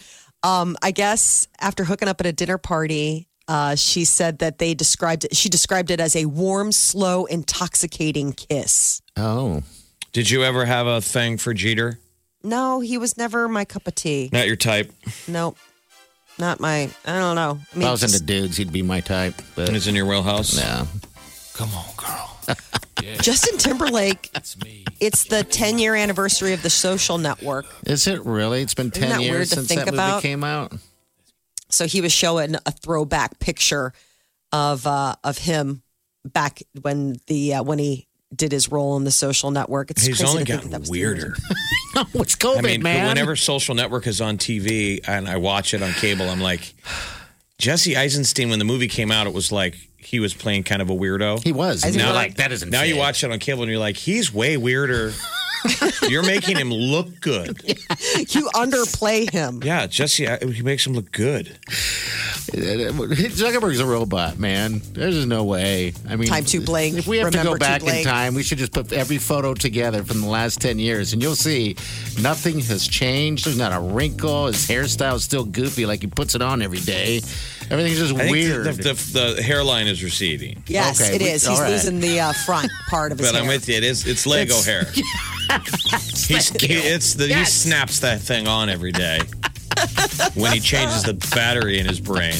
Speaker 5: um, I guess after hooking up at a dinner party, uh, she said that they described it, she described it as a warm, slow, intoxicating kiss.
Speaker 3: Oh.
Speaker 4: Did you ever have a thing for Jeter?
Speaker 5: No, he was never my cup of tea.
Speaker 4: Not your type.
Speaker 5: Nope. Not my, I don't know. I
Speaker 3: If
Speaker 5: mean,
Speaker 3: I was
Speaker 5: just-
Speaker 3: into dudes, he'd be my type. But
Speaker 4: And it's in your wheelhouse?
Speaker 3: yeah.
Speaker 8: Come on, girl.
Speaker 5: Justin Timberlake,
Speaker 8: That's me.
Speaker 5: it's the ten year anniversary of The Social Network.
Speaker 3: Is it really? It's been ten
Speaker 5: that weird
Speaker 3: years
Speaker 5: to
Speaker 3: since
Speaker 5: think
Speaker 3: that movie
Speaker 5: about?
Speaker 3: came out.
Speaker 5: So he was showing a throwback picture of uh, of him back when the uh, when he did his role in The Social Network. It's
Speaker 4: He's
Speaker 5: crazy
Speaker 4: only
Speaker 5: to think
Speaker 4: gotten
Speaker 5: that was
Speaker 4: weirder.
Speaker 3: No, it's COVID,
Speaker 4: I mean,
Speaker 3: man.
Speaker 4: whenever Social Network is on T V and I watch it on cable, I'm like, Jesse Eisenstein, when the movie came out, it was like he was playing kind of a weirdo.
Speaker 3: he was.
Speaker 5: I
Speaker 3: And
Speaker 5: think
Speaker 3: you're
Speaker 5: we're-
Speaker 3: like, that isn't
Speaker 4: Now you
Speaker 3: fit.
Speaker 4: watch it on cable and you're like, he's way weirder. You're making him look good.
Speaker 5: You underplay him.
Speaker 4: Yeah, Jesse, I- he makes him look good.
Speaker 3: Zuckerberg's a robot, man. There's just no way. I mean,
Speaker 5: Time to blink.
Speaker 3: If we have to
Speaker 5: Remember
Speaker 3: go
Speaker 5: to
Speaker 3: back in
Speaker 5: blink.
Speaker 3: time, we should just put every photo together from the last ten years, and you'll see nothing has changed. There's not a wrinkle. His hairstyle's still goofy, like he puts it on every day. Everything's just
Speaker 4: I think
Speaker 3: weird.
Speaker 4: the, the, the hairline is receding.
Speaker 5: Yes,
Speaker 3: Okay,
Speaker 5: it
Speaker 3: we-
Speaker 5: is.
Speaker 3: all
Speaker 5: He's
Speaker 3: right.
Speaker 5: losing the uh, front part of his
Speaker 4: But
Speaker 5: hair.
Speaker 4: I'm with you. It is. It's Lego
Speaker 5: It's-
Speaker 4: hair. He's, he, it's the, He
Speaker 3: Yes.
Speaker 4: snaps that thing on every day when he changes the battery in his brain.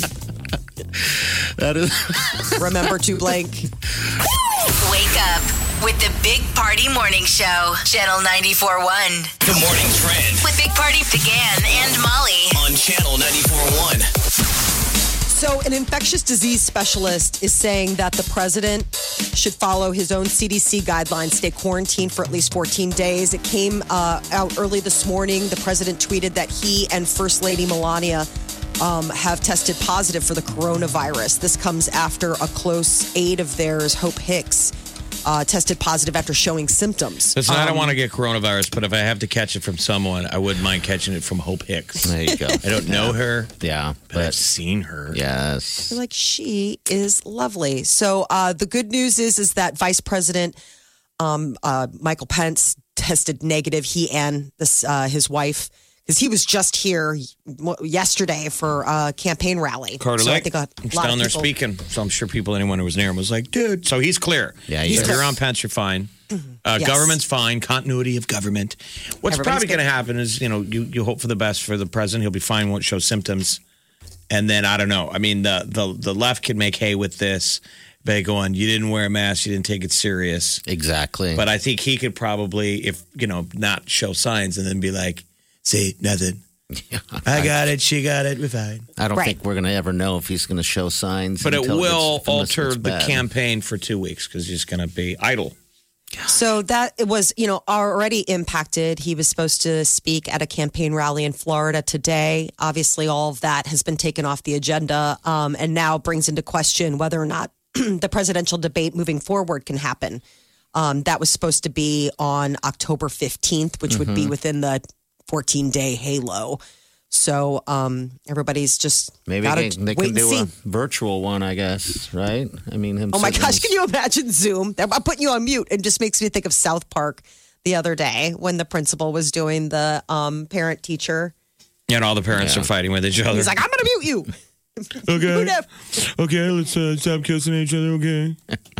Speaker 3: that is.
Speaker 5: Remember to blink.
Speaker 2: Wake up with the Big Party Morning Show, Channel ninety-four point one.
Speaker 6: The morning trend
Speaker 2: With Big Party began and Molly.
Speaker 6: on Channel ninety-four point one.
Speaker 5: So, an infectious disease specialist is saying that the president should follow his own C D C guidelines, stay quarantined for at least fourteen days. It came uh, out early this morning. The president tweeted that he and First Lady Melania um, have tested positive for the coronavirus. This comes after a close aide of theirs, Hope Hicks, uh, tested positive after showing symptoms.
Speaker 4: Listen, I don't
Speaker 5: Um,
Speaker 4: want to get coronavirus, but if I have to catch it from someone, I wouldn't mind catching it from Hope Hicks.
Speaker 3: There you go.
Speaker 4: I don't know her,
Speaker 3: Yeah,
Speaker 4: but I've
Speaker 3: but
Speaker 4: seen her.
Speaker 3: yes.
Speaker 5: They're like, she is lovely. So uh, the good news is, is that Vice President um, uh, Michael Pence tested negative. He and this uh, his wife, because he was just here yesterday for a campaign rally.
Speaker 4: Carter
Speaker 5: so I
Speaker 4: Lake,
Speaker 5: think a
Speaker 4: he's
Speaker 5: lot
Speaker 4: down
Speaker 5: of
Speaker 4: there
Speaker 5: people-
Speaker 4: speaking. So I'm sure people, anyone who was near him, was like, "Dude." So he's clear.
Speaker 3: Yeah,
Speaker 4: So
Speaker 3: he's
Speaker 4: if
Speaker 3: clear.
Speaker 4: you're on Pence, you're fine. Uh,
Speaker 5: Yes.
Speaker 4: Government's fine. Continuity of government. What's
Speaker 5: Everybody's
Speaker 4: probably
Speaker 5: good.
Speaker 4: going to happen is, you know, you you hope for the best for the president. He'll be fine. Won't show symptoms. And then I don't know. I mean, the the the left can make hay with this by going, "You didn't wear a mask. You didn't take it serious."
Speaker 3: Exactly.
Speaker 4: But I think he could probably, if you know, not show signs and then be like, "Say nothing." I got it. She got it. We're fine.
Speaker 3: I don't
Speaker 5: Right.
Speaker 3: think we're going to ever know if he's going to show signs.
Speaker 4: But it
Speaker 3: until
Speaker 4: will
Speaker 3: it's- unless
Speaker 4: alter
Speaker 3: it's
Speaker 4: the
Speaker 3: bad.
Speaker 4: campaign for two weeks because he's going to be idle.
Speaker 5: So that it was, you know, already impacted. He was supposed to speak at a campaign rally in Florida today. Obviously, all of that has been taken off the agenda, um, and now brings into question whether or not the presidential debate moving forward can happen. Um, that was supposed to be on October fifteenth, which would be within the fourteen-day halo. So um, everybody's just
Speaker 3: Maybe
Speaker 5: gotta
Speaker 3: they, they
Speaker 5: wait
Speaker 3: can
Speaker 5: and
Speaker 3: do
Speaker 5: see.
Speaker 3: a virtual one, I guess, right? I mean, him
Speaker 5: Oh my
Speaker 3: sitting
Speaker 5: gosh,
Speaker 3: in
Speaker 5: can you imagine Zoom? I'm putting you on mute. It just makes me think of South Park the other day when the principal was doing the um, parent teacher.
Speaker 4: And all the parents
Speaker 3: Yeah.
Speaker 4: are fighting with each other.
Speaker 5: He's like, I'm going to mute you.
Speaker 4: okay.
Speaker 5: Who
Speaker 4: Okay, let's uh, stop kissing each other, okay?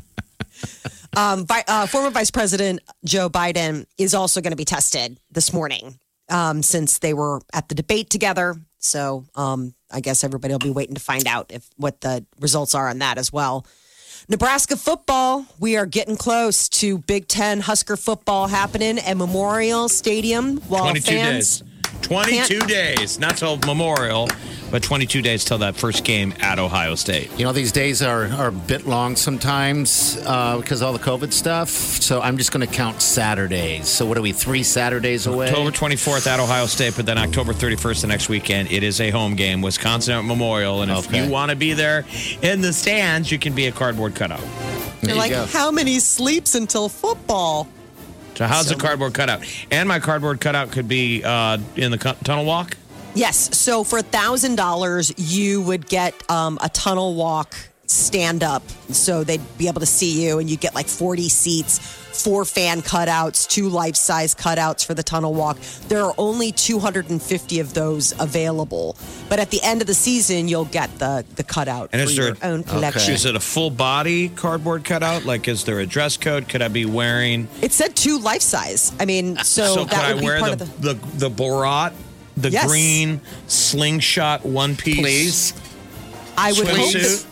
Speaker 5: Um, Vi- uh, former Vice President Joe Biden is also going to be tested this morning um, since they were at the debate together. So um, I guess everybody will be waiting to find out if what the results are on that as well. Nebraska football, we are getting close to Big Ten Husker football happening at Memorial Stadium. While
Speaker 4: twenty-two
Speaker 5: fans,
Speaker 4: days. twenty-two days. Not till Memorial, but twenty-two days till that first game at Ohio State.
Speaker 3: You know, these days are, are a bit long sometimes uh, because of all the COVID stuff. So I'm just going to count Saturdays. So what are we, three Saturdays away?
Speaker 4: October twenty-fourth at Ohio State, but then October thirty-first the next weekend. It is a home game, Wisconsin at Memorial. And if
Speaker 3: Okay.
Speaker 4: you want to be there in the stands, you can be a cardboard cutout.
Speaker 3: There
Speaker 5: you're
Speaker 3: you
Speaker 5: like,
Speaker 3: go.
Speaker 5: how many sleeps until football?
Speaker 4: So how's the cardboard cutout? And my cardboard cutout could be uh, in the cu- tunnel walk.
Speaker 5: Yes. So for a thousand dollars, you would get um, a tunnel walk stand up. So they'd be able to see you, and you get like forty seats, four fan cutouts, two life size cutouts for the tunnel walk. There are only two hundred fifty of those available. But at the end of the season, you'll get the the cutout
Speaker 4: And
Speaker 5: for
Speaker 4: is there-
Speaker 5: your own collection.
Speaker 4: Is it a full body cardboard cutout? Like, is there a dress code? Could I be wearing?
Speaker 5: It said two life size. I mean, so,
Speaker 4: So could
Speaker 5: that
Speaker 4: I
Speaker 5: would be
Speaker 4: wear
Speaker 5: part
Speaker 4: the,
Speaker 5: of the.
Speaker 4: the the Borat, the
Speaker 5: Yes.
Speaker 4: green slingshot one piece?
Speaker 3: Please.
Speaker 5: I would hope
Speaker 4: swimsuit?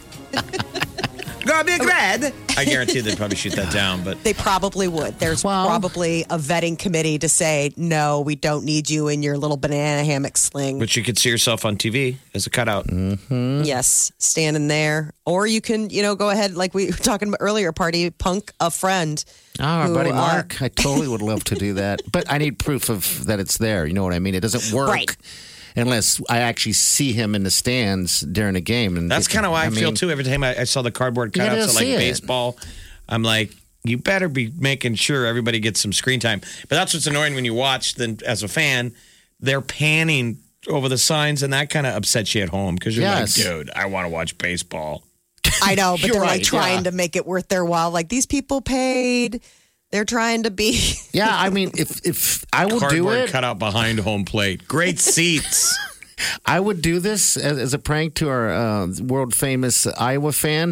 Speaker 5: that
Speaker 4: Gonna be red. I guarantee they'd probably shoot that down, but
Speaker 5: they probably would. There's
Speaker 3: Well-
Speaker 5: probably a vetting committee to say, no, we don't need you in your little banana hammock sling.
Speaker 4: but you could see yourself on T V as a cutout.
Speaker 5: Yes, standing there. Or you can, you know, go ahead, like we were talking about earlier, party punk a friend.
Speaker 3: Oh, our
Speaker 5: who,
Speaker 3: buddy
Speaker 5: uh,
Speaker 3: Mark. I totally would love to do that. But I need proof of that it's there. You know what I mean? It doesn't work
Speaker 5: Right.
Speaker 3: unless I actually see him in the stands during a game. And
Speaker 4: That's kind of why I, feel
Speaker 3: mean,
Speaker 4: too. Every time I, I saw the cardboard
Speaker 3: You gotta
Speaker 4: cutouts of like
Speaker 3: see it.
Speaker 4: baseball, I'm like, you better be making sure everybody gets some screen time. But that's what's annoying when you watch. Then, as a fan, they're panning over the signs, and that kind of upsets you at home because you're
Speaker 3: Yes.
Speaker 4: like, dude, I want to watch baseball.
Speaker 5: I know, but
Speaker 3: You're
Speaker 5: they're
Speaker 3: right,
Speaker 5: like trying
Speaker 3: yeah.
Speaker 5: to make it worth their while. Like these people paid. They're trying to be.
Speaker 3: Yeah, I mean, if if I will do
Speaker 4: Cardboard
Speaker 3: it,
Speaker 4: cutout behind home plate. Great seats.
Speaker 3: I would do this as, as a prank to our uh, world famous Iowa fan.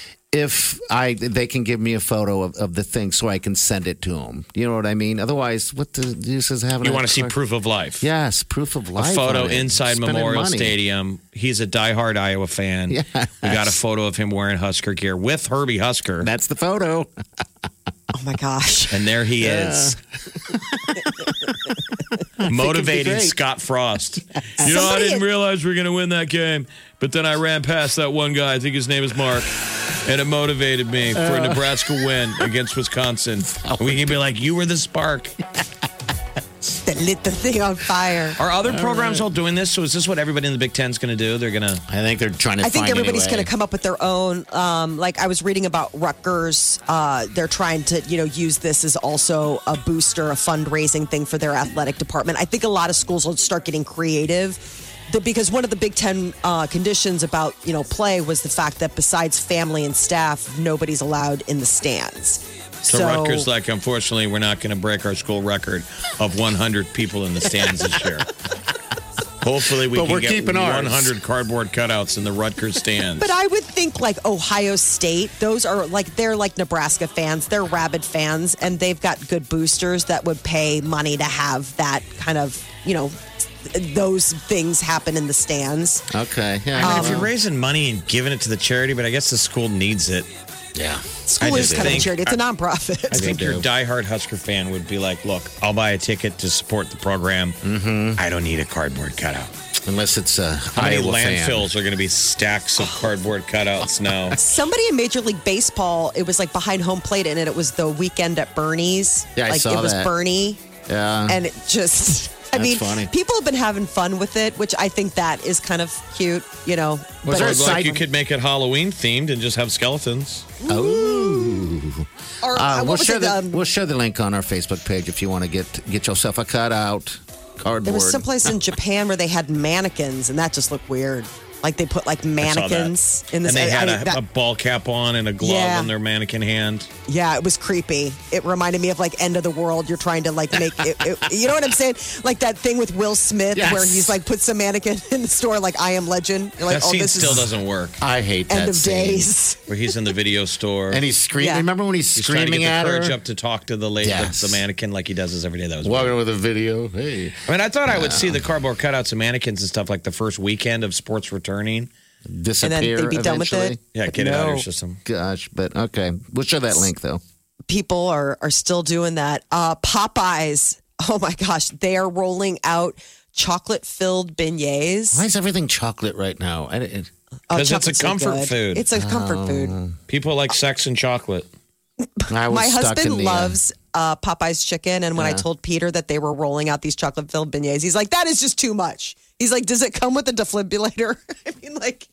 Speaker 3: If I they can give me a photo of, of the thing so I can send it to them. You know what I mean? Otherwise, what the use is having?
Speaker 4: You
Speaker 3: a
Speaker 4: want to see
Speaker 3: card-
Speaker 4: proof of life.
Speaker 3: Yes, proof of
Speaker 4: A
Speaker 3: life.
Speaker 4: photo
Speaker 3: on it.
Speaker 4: inside
Speaker 3: Spending
Speaker 4: Memorial
Speaker 3: money.
Speaker 4: Stadium. He's a diehard Iowa fan.
Speaker 3: Yes.
Speaker 4: We got a photo of him wearing Husker gear with Herbie Husker.
Speaker 3: That's the photo.
Speaker 5: Oh my gosh.
Speaker 4: And there he is. Motivating
Speaker 3: great.
Speaker 4: Scott Frost. You know, I
Speaker 5: Somebody-
Speaker 4: didn't realize we were going to win that game, but then I ran past that one guy. I think his name is Mark. And it motivated me for a Nebraska win against Wisconsin. And we can be like, you were the spark.
Speaker 5: That lit the thing on fire.
Speaker 4: Are other programs all doing this? So is this what everybody in the Big Ten is going to do? They're going to.
Speaker 3: I think they're trying to.
Speaker 5: I think
Speaker 3: find
Speaker 5: everybody's
Speaker 3: anyway.
Speaker 5: going to come up with their own. Um, like I was reading about Rutgers, uh, they're trying to, you know, use this as also a booster, a fundraising thing for their athletic department. I think a lot of schools will start getting creative, the, because one of the Big Ten uh, conditions about you know play was the fact that besides family and staff, nobody's allowed in the stands.
Speaker 4: So, Rutgers, like, unfortunately, we're not going to break our school record of one hundred people in the stands this year. Hopefully, we
Speaker 3: But
Speaker 4: can
Speaker 3: we're
Speaker 4: get
Speaker 3: keeping ours.
Speaker 4: one hundred cardboard cutouts in the Rutgers stands.
Speaker 5: But I would think like Ohio State, those are like, they're like Nebraska fans, they're rabid fans, and they've got good boosters that would pay money to have that kind of, you know, those things happen in the stands.
Speaker 3: Okay. Yeah.
Speaker 4: I mean,
Speaker 5: Um,
Speaker 4: if you're raising money and giving it to the charity, but I guess the school needs it.
Speaker 3: Yeah.
Speaker 5: School
Speaker 4: I
Speaker 5: is
Speaker 4: just
Speaker 5: kind of a
Speaker 4: think-
Speaker 5: charity. It's a nonprofit.
Speaker 4: I think your diehard Husker fan would be like, look, I'll buy a ticket to support the program. Mm-hmm. I don't need a cardboard cutout.
Speaker 3: Unless it's a
Speaker 4: How many
Speaker 3: Iowa
Speaker 4: landfills
Speaker 3: fan.
Speaker 4: are going to be stacks of cardboard cutouts now?
Speaker 5: Somebody in Major League Baseball, it was like behind home plate, and it was the weekend at Bernie's.
Speaker 3: Yeah, I
Speaker 5: like
Speaker 3: saw
Speaker 5: it was
Speaker 3: that.
Speaker 5: Bernie,
Speaker 3: Yeah.
Speaker 5: and it just. I
Speaker 3: That's
Speaker 5: mean,
Speaker 3: funny.
Speaker 5: people have been having fun with it, which I think that is kind of cute, you know.
Speaker 3: Was
Speaker 5: but
Speaker 3: there a
Speaker 4: Or
Speaker 3: side-
Speaker 4: like you could make it Halloween themed and just have skeletons.
Speaker 3: Oh.
Speaker 5: or,
Speaker 3: Uh,
Speaker 5: uh, what
Speaker 3: we'll,
Speaker 5: was
Speaker 3: share
Speaker 5: it?
Speaker 3: the,
Speaker 5: Um,
Speaker 3: we'll share the link on our Facebook page if you want to get get yourself a cutout cardboard.
Speaker 5: there was someplace in Japan where they had mannequins, and that just looked weird. Like they put like
Speaker 4: I saw that.
Speaker 5: mannequins in this.
Speaker 4: And they had
Speaker 5: I-
Speaker 4: a,
Speaker 5: that-
Speaker 4: a ball cap on and a glove
Speaker 5: Yeah.
Speaker 4: in their mannequin hand.
Speaker 5: Yeah, it was creepy. It reminded me of like End of the World. You're trying to like make it, it you know what I'm saying? Like that thing with Will Smith
Speaker 3: Yes.
Speaker 5: where he's like puts a mannequin in the store like I Am Legend. You're like,
Speaker 4: That
Speaker 5: oh,
Speaker 4: scene
Speaker 5: this
Speaker 4: still
Speaker 5: is
Speaker 4: doesn't work.
Speaker 3: I hate
Speaker 5: end
Speaker 3: that
Speaker 5: of
Speaker 3: scene.
Speaker 5: days.
Speaker 4: Where he's in the video store.
Speaker 3: And he's screaming.
Speaker 5: Yeah.
Speaker 3: Remember when he's,
Speaker 4: he's trying to
Speaker 3: screaming
Speaker 4: get
Speaker 3: at
Speaker 4: the
Speaker 3: her?
Speaker 4: courage up to talk to the lady,
Speaker 3: Yes.
Speaker 4: the, the mannequin, like he does this every day. That was weird.
Speaker 3: Walking with a video. Hey.
Speaker 4: I mean, I thought I would see the cardboard cutouts of mannequins and stuff like the first weekend of sports returning.
Speaker 3: Disappear
Speaker 5: they'd be done with
Speaker 3: eventually.
Speaker 5: it.
Speaker 4: Yeah,
Speaker 5: But
Speaker 4: get it out of your
Speaker 5: no.
Speaker 4: system.
Speaker 3: Gosh, but okay. We'll show that link though.
Speaker 5: People are are still doing that. Uh, Popeyes. Oh my gosh, they are rolling out chocolate filled beignets.
Speaker 3: Why is everything chocolate right now? I, it,
Speaker 5: Oh,
Speaker 4: 'Cause it's a
Speaker 5: chocolate's so
Speaker 4: comfort
Speaker 5: good.
Speaker 4: food.
Speaker 5: It's a comfort food.
Speaker 4: People like sex and chocolate.
Speaker 3: I was
Speaker 5: My
Speaker 3: stuck
Speaker 5: husband
Speaker 3: in the, uh,
Speaker 5: loves uh, Popeye's chicken, and when I
Speaker 3: Yeah.
Speaker 5: told Peter that they were rolling out these chocolate filled beignets, he's like, "That is just too much." He's like, "Does it come with a defibrillator?" I mean, like,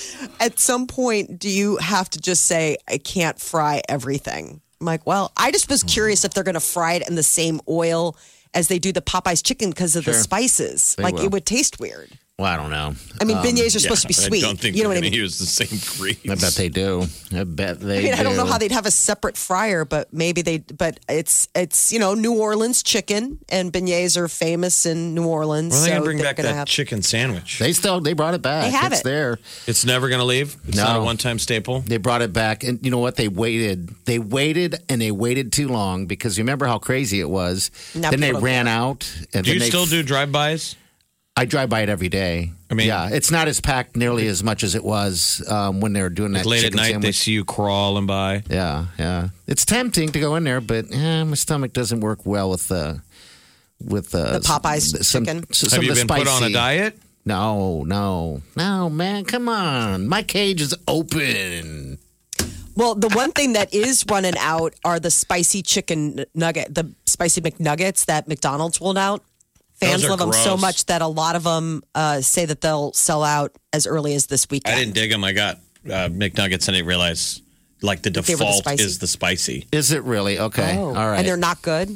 Speaker 5: at some point, do you have to just say, "I can't fry everything"? I'm like, well, I just was curious if they're going to fry it in the same oil as they do the Popeye's chicken because of the
Speaker 3: Sure.
Speaker 5: spices.
Speaker 3: They
Speaker 5: like,
Speaker 3: will.
Speaker 5: it would taste weird.
Speaker 3: Well, I don't know.
Speaker 5: I mean,
Speaker 3: Um,
Speaker 5: beignets are supposed to be
Speaker 4: I
Speaker 5: sweet.
Speaker 4: don't think
Speaker 5: you know
Speaker 4: they're
Speaker 5: what I
Speaker 4: going to
Speaker 5: mean?
Speaker 4: use the same grease.
Speaker 3: I bet they do. I bet they
Speaker 5: I mean,
Speaker 3: do.
Speaker 5: I don't know how they'd have a separate fryer, but maybe they. But it's it's you know New Orleans chicken, and beignets are famous in New Orleans.
Speaker 4: Well, they
Speaker 5: so
Speaker 4: going to bring
Speaker 5: they're
Speaker 4: back
Speaker 5: gonna
Speaker 4: that
Speaker 5: have,
Speaker 4: chicken sandwich.
Speaker 3: They still they brought it back.
Speaker 5: They have
Speaker 3: it's
Speaker 5: it.
Speaker 3: there.
Speaker 4: It's never going to leave. It's
Speaker 3: No.
Speaker 4: not a one-time staple.
Speaker 3: They brought it back, and you know what? They waited. They waited, and they waited too long because you remember how crazy it was.
Speaker 5: Now
Speaker 3: then they
Speaker 5: people don't
Speaker 3: ran
Speaker 5: care.
Speaker 3: out. And
Speaker 4: Do
Speaker 3: then
Speaker 4: you
Speaker 3: they
Speaker 4: still
Speaker 3: f-
Speaker 4: do drive-bys?
Speaker 3: I drive by it every day.
Speaker 4: I mean-
Speaker 3: yeah, it's not as packed nearly as much as it was um, when they were doing that
Speaker 4: Late at
Speaker 3: chicken
Speaker 4: night, they
Speaker 3: sandwich.
Speaker 4: see you crawling by.
Speaker 3: Yeah, yeah. It's tempting to go in there, but eh, my stomach doesn't work well with the with uh,
Speaker 5: The Popeyes
Speaker 3: s- some,
Speaker 5: chicken?
Speaker 3: s- some
Speaker 4: Have
Speaker 3: of
Speaker 4: you
Speaker 3: the
Speaker 4: been put on a
Speaker 3: spicy-
Speaker 4: diet?
Speaker 3: No, no, no, man. Come on, my cage is open.
Speaker 5: well, the one thing that is running out are the spicy chicken nugget, the spicy McNuggets that McDonald's rolled out. Fans
Speaker 4: Those are
Speaker 5: love them so
Speaker 4: gross.
Speaker 5: much that a lot of them uh, say that they'll sell out as early as this weekend.
Speaker 4: I didn't dig them. I got uh, McNuggets and I didn't realize like the
Speaker 5: they were the
Speaker 4: default
Speaker 5: spicy.
Speaker 4: is the spicy.
Speaker 3: Is it really okay?
Speaker 5: Oh.
Speaker 3: All right.
Speaker 5: And they're not good.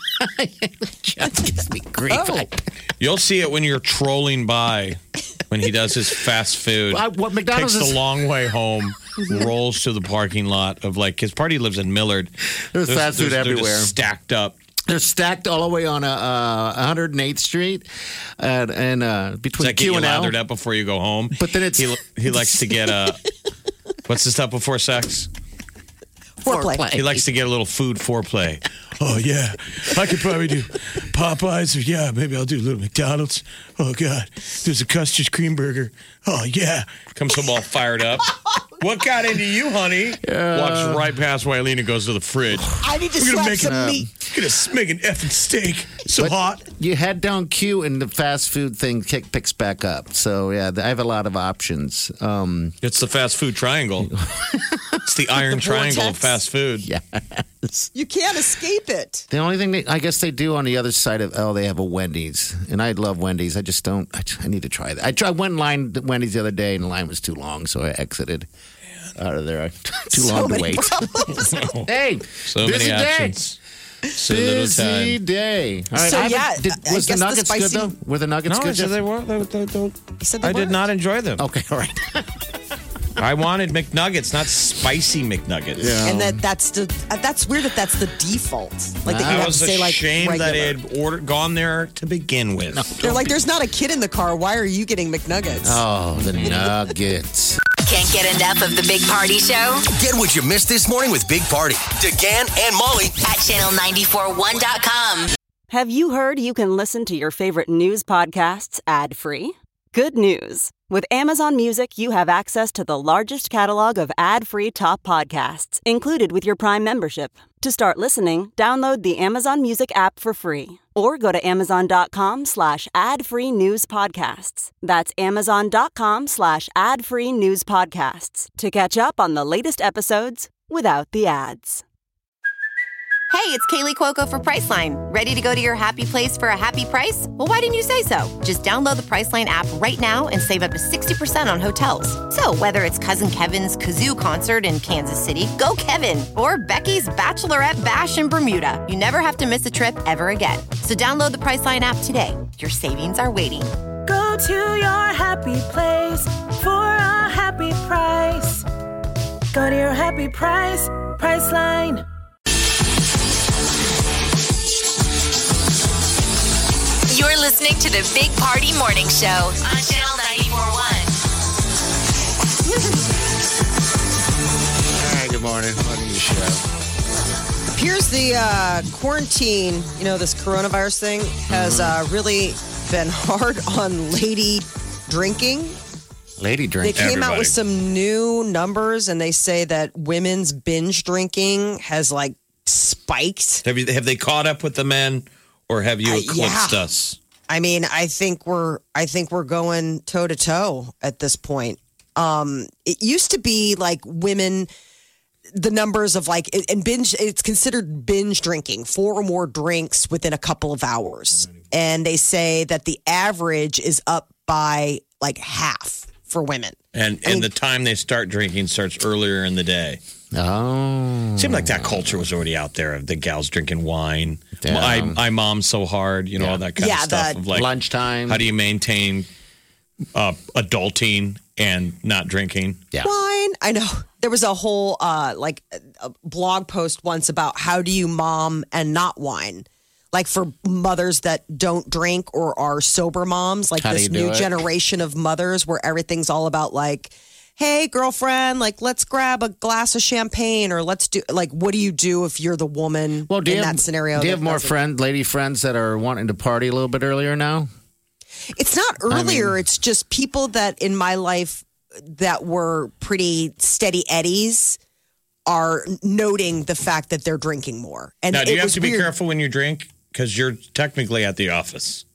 Speaker 3: Just gives me grief.
Speaker 5: Oh.
Speaker 3: I-
Speaker 4: You'll see it when you're trolling by when he does his fast food.
Speaker 3: I- what McDonald's
Speaker 4: takes
Speaker 3: is-
Speaker 4: the long way home, rolls to the parking lot of like his party lives in Millard.
Speaker 3: There's fast food
Speaker 4: they're just
Speaker 3: everywhere.
Speaker 4: stacked up.
Speaker 3: They're stacked all the way on uh, uh, one hundred eighth Street and, and uh,
Speaker 4: Does
Speaker 3: between
Speaker 4: that get
Speaker 3: Q
Speaker 4: you
Speaker 3: and L.
Speaker 4: lathered up before you go home?
Speaker 3: But then it's-
Speaker 4: he, he likes to get a what's the stuff before sex?
Speaker 5: Foreplay.
Speaker 4: He likes to get a little food foreplay. Oh yeah, I could probably do Popeyes or yeah, maybe I'll do a little McDonald's. Oh god, there's a custard cream burger. Oh yeah, comes home all fired up. What got into you, honey? Walks right past Wileen and goes to the fridge.
Speaker 5: I need to
Speaker 4: We're gonna
Speaker 5: slap
Speaker 4: make
Speaker 5: some
Speaker 4: it-
Speaker 5: meat.
Speaker 4: Gonna make an effing steak. So
Speaker 3: But
Speaker 4: hot.
Speaker 3: You head down Q and the fast food thing kick, picks back up. So yeah, I have a lot of options. Um,
Speaker 4: It's the fast food triangle. It's the iron
Speaker 5: The
Speaker 4: triangle of
Speaker 5: vortex.
Speaker 4: fast food.
Speaker 3: yes.
Speaker 5: You can't escape it.
Speaker 3: The only thing they, I guess they do on the other side of oh, they have a Wendy's, and I love Wendy's. I just don't. I, I need to try that. I tried went in line at Wendy's the other day, and the line was too long, so I exited out of there. Too
Speaker 5: So
Speaker 3: long to
Speaker 5: many
Speaker 3: wait.
Speaker 5: problems.
Speaker 3: Hey,
Speaker 4: So
Speaker 3: busy
Speaker 4: many
Speaker 3: day.
Speaker 4: options. So little
Speaker 3: Busy
Speaker 4: time.
Speaker 3: day. All right,
Speaker 5: So,
Speaker 3: I haven't-
Speaker 5: yeah,
Speaker 3: did,
Speaker 5: I
Speaker 3: was the
Speaker 5: guess the
Speaker 3: nuggets good
Speaker 5: spicy-
Speaker 3: though? Were the nuggets
Speaker 4: No, I
Speaker 3: good?
Speaker 4: said
Speaker 3: Jeff?
Speaker 4: they were. They, they, they,
Speaker 5: You said they
Speaker 4: I did
Speaker 5: weren't.
Speaker 4: not enjoy them.
Speaker 3: Okay, all right.
Speaker 4: I wanted McNuggets, not spicy McNuggets.
Speaker 3: Yeah.
Speaker 5: And that that's the uh, that's weird that that's the default. Like that you
Speaker 4: I
Speaker 5: have
Speaker 4: was
Speaker 5: to say like
Speaker 4: ashamed
Speaker 5: regular.
Speaker 4: that it had ordered, gone there to begin with.
Speaker 5: They're like, there's not a kid in the car. Why are you getting McNuggets?
Speaker 3: Oh, the nuggets.
Speaker 2: Can't get enough of the Big Party Show
Speaker 6: Get what you missed this morning with Big Party, DeGan and Molly.
Speaker 2: at channel nine four one dot com.
Speaker 8: Have you heard you can listen to your favorite news podcasts ad-free? Good news. With Amazon Music, you have access to the largest catalog of ad-free top podcasts included with your Prime membership. To start listening, download the Amazon Music app for free or go to amazon.com slash ad-free news podcasts. That's amazon.com slash ad-free news podcasts to catch up on the latest episodes without the ads.
Speaker 9: Hey, it's Kaylee Cuoco for Priceline. Ready to go to your happy place for a happy price? Well, why didn't you say so? Just download the Priceline app right now and save up to sixty percent on hotels. So whether it's Cousin Kevin's Kazoo Concert in Kansas City, go Kevin, or Becky's Bachelorette Bash in Bermuda, you never have to miss a trip ever again. So download the Priceline app today. Your savings are waiting.
Speaker 10: Go to your happy place for a happy price. Go to your happy price, Priceline.
Speaker 2: You're listening to the Big Party Morning Show on Channel ninety-four point one.
Speaker 3: All right, good morning. Morning show.
Speaker 5: Appears the uh, quarantine, you know, this coronavirus thing has uh, really been hard on lady drinking.
Speaker 3: Lady drink.
Speaker 5: They came
Speaker 4: Everybody.
Speaker 5: out with some new numbers, and they say that women's binge drinking has like spiked.
Speaker 4: Have you have they caught up with the men, or have you
Speaker 5: Uh,
Speaker 4: eclipsed
Speaker 5: yeah.
Speaker 4: us?
Speaker 5: I mean, I think we're I think we're going toe to toe at this point. Um, it used to be like women, the numbers of like and binge. It's considered binge drinking, four or more drinks within a couple of hours, and they say that the average is up by like half for women.
Speaker 4: And
Speaker 5: I mean-
Speaker 4: and the time they start drinking starts earlier in the day.
Speaker 3: Oh.
Speaker 4: Seemed like that culture was already out there of the gals drinking wine.
Speaker 3: Damn.
Speaker 4: I I mom so hard, you know, all that kind
Speaker 5: Yeah,
Speaker 4: of stuff
Speaker 5: the-
Speaker 4: of like
Speaker 3: Lunchtime.
Speaker 4: How do you maintain uh, adulting and not drinking?
Speaker 3: Yeah.
Speaker 5: Wine. I know there was a whole uh, like a blog post once about how do you mom and not wine, like for mothers that don't drink or are sober moms, like
Speaker 3: How do
Speaker 5: this
Speaker 3: you do
Speaker 5: new
Speaker 3: it?
Speaker 5: generation of mothers where everything's all about like, hey girlfriend, like let's grab a glass of champagne or let's do like what do you do if you're the woman
Speaker 3: Well, do
Speaker 5: in
Speaker 3: you
Speaker 5: that
Speaker 3: have,
Speaker 5: scenario?
Speaker 3: Do you
Speaker 5: that
Speaker 3: have more
Speaker 5: doesn't-
Speaker 3: friend, lady friends that are wanting to party a little bit earlier now?
Speaker 5: It's not earlier.
Speaker 3: mean-
Speaker 5: it's just people that in my life that were pretty steady eddies are noting the fact that they're drinking more. And
Speaker 4: Now, do
Speaker 5: it
Speaker 4: you have
Speaker 5: was
Speaker 4: to be
Speaker 5: weird.
Speaker 4: careful when you drink? Because you're technically at the office.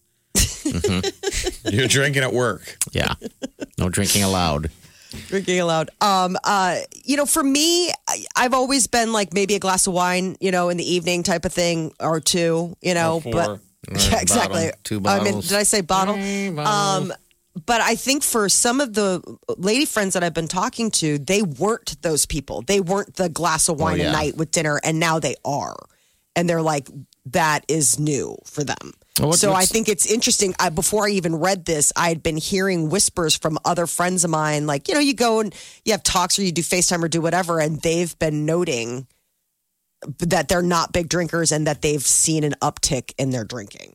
Speaker 3: Mm-hmm.
Speaker 4: You're drinking at work.
Speaker 3: Yeah. No drinking allowed.
Speaker 5: Drinking aloud. Um, uh, you know, for me, I, I've always been like maybe a glass of wine, you know, in the evening type of thing or two, you know,
Speaker 4: Or four.
Speaker 5: but
Speaker 3: Or
Speaker 5: yeah,
Speaker 3: a
Speaker 5: exactly.
Speaker 3: bottle, two
Speaker 5: I mean,
Speaker 3: bottles.
Speaker 5: did I say bottle?
Speaker 3: Three bottles.
Speaker 5: Um, but I think for some of the lady friends that I've been talking to, they weren't those people. They weren't the glass of wine
Speaker 3: yeah.
Speaker 5: a night with dinner, and now they are. And they're like, that is new for them.
Speaker 3: Well, what-
Speaker 5: so I
Speaker 3: what's-
Speaker 5: think it's interesting. I, before I even read this, I had been hearing whispers from other friends of mine, like, you know, you go and you have talks or you do FaceTime or do whatever, and they've been noting that they're not big drinkers and that they've seen an uptick in their drinking.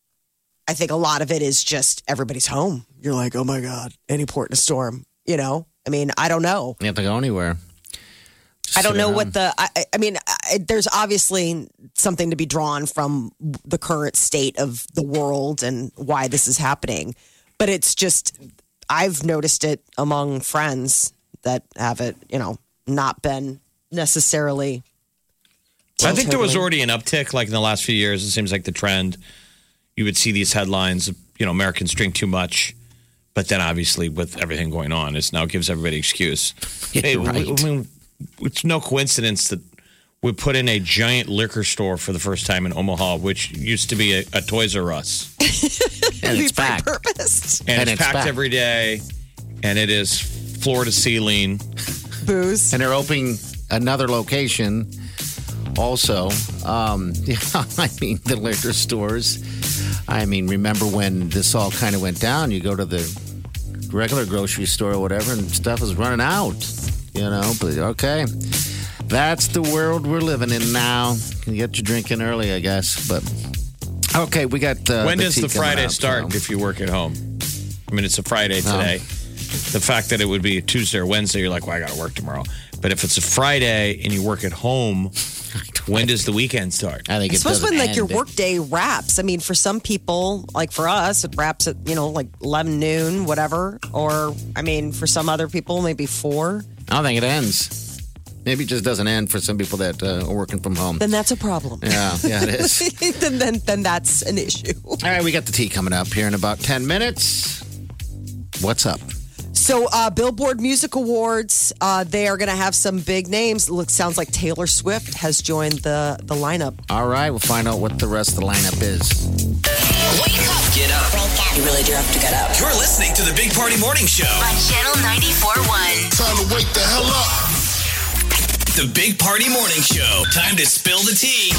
Speaker 5: I think a lot of it is just everybody's home. You're like, oh my God, any port in a storm, you know? I mean, I don't know.
Speaker 3: You have to go anywhere. Just
Speaker 5: I don't
Speaker 3: sit
Speaker 5: know
Speaker 3: around.
Speaker 5: what the, I, I- I mean, I, there's obviously something to be drawn from the current state of the world and why this is happening. But it's just, I've noticed it among friends that have it, you know, not been necessarily.
Speaker 4: I think there was
Speaker 5: totally-
Speaker 4: already an uptick, like in the last few years. It seems like the trend. You would see these headlines, of, you know, Americans drink too much. But then obviously with everything going on, it now gives everybody an excuse.
Speaker 3: Yeah,
Speaker 4: Hey,
Speaker 3: right.
Speaker 4: I mean, it's no coincidence that we put in a giant liquor store for the first time in Omaha, which used to be a, a Toys R Us.
Speaker 3: And it's back.
Speaker 5: Purpose.
Speaker 4: And,
Speaker 3: And
Speaker 4: it's,
Speaker 3: it's
Speaker 4: packed
Speaker 3: back.
Speaker 4: every day. And it is floor to ceiling.
Speaker 5: Booze.
Speaker 3: And they're opening another location also. Um, yeah, I mean, the liquor stores. I mean, remember when this all kind of went down? You go to the regular grocery store or whatever, and stuff is running out, you know? But okay. That's the world we're living in now. You can get your drinking early, I guess. But okay, we got. Uh,
Speaker 4: when
Speaker 3: the
Speaker 4: does
Speaker 3: tea
Speaker 4: the
Speaker 3: coming
Speaker 4: Friday
Speaker 3: out,
Speaker 4: start
Speaker 3: so-
Speaker 4: if you work at home? I mean, it's a Friday today. The fact that it would be a Tuesday or Wednesday, you're like, well, I got to work tomorrow. But if it's a Friday and you work at home, When does the weekend start?
Speaker 3: I think
Speaker 5: I
Speaker 3: it
Speaker 5: suppose
Speaker 3: doesn't
Speaker 5: when like your
Speaker 3: end.
Speaker 5: workday wraps. I mean, for some people, like for us, it wraps at you know like eleven noon, whatever. Or I mean, for some other people, maybe four.
Speaker 3: I don't think it ends. Maybe it just doesn't end for some people that uh, are working from home.
Speaker 5: Then that's a problem.
Speaker 3: Yeah, yeah, it is.
Speaker 5: then, then then that's an issue.
Speaker 3: All right, we got the tea coming up here in about ten minutes. What's up?
Speaker 5: So, uh, Billboard Music Awards, uh, they are going to have some big names. Looks sounds like Taylor Swift has joined the the lineup.
Speaker 3: All right, we'll find out what the rest of the lineup is.
Speaker 2: Wake up
Speaker 6: Get up.
Speaker 2: You really do have to get up.
Speaker 6: You're listening to the Big Party Morning Show.
Speaker 2: On Channel ninety-four point one.
Speaker 11: Time to wake the hell up.
Speaker 6: The Big Party Morning Show. Time to spill the tea.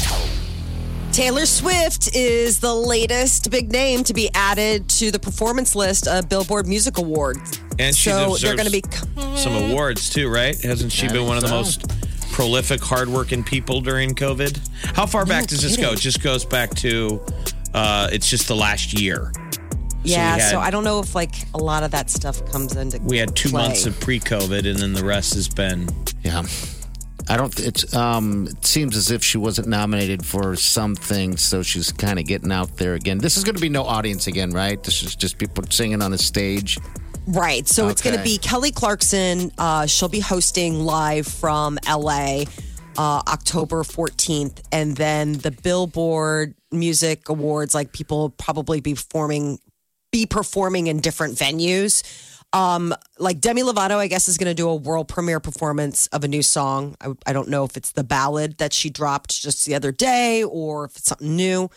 Speaker 5: Taylor Swift is the latest big name to be added to the performance list of Billboard Music Awards.
Speaker 4: And she
Speaker 5: so
Speaker 4: deserves
Speaker 5: they're going to be
Speaker 4: some awards too, right? Hasn't she
Speaker 3: I
Speaker 4: been one of the
Speaker 3: think
Speaker 4: most prolific, hardworking people during COVID? How far back does this go? It just goes back to, uh, it's just the last year.
Speaker 5: Yeah,
Speaker 4: we had-
Speaker 5: so I don't know if like a lot of that stuff comes into
Speaker 4: We had two
Speaker 5: play.
Speaker 4: months of pre-COVID, and then the rest has been.
Speaker 3: Yeah. I don't. It's. Um. It seems as if she wasn't nominated for something, so she's kind of getting out there again. This is going to be no audience again, right? This is just people singing on a stage.
Speaker 5: Right. So it's going to
Speaker 3: Okay.
Speaker 5: be Kelly Clarkson. Uh, she'll be hosting live from L A uh, October fourteenth. And then the Billboard Music Awards, like people will probably be performing, be performing in different venues. Um, like Demi Lovato, I guess, is going to do a world premiere performance of a new song. I, I don't know if it's the ballad that she dropped just the other day or if it's something new.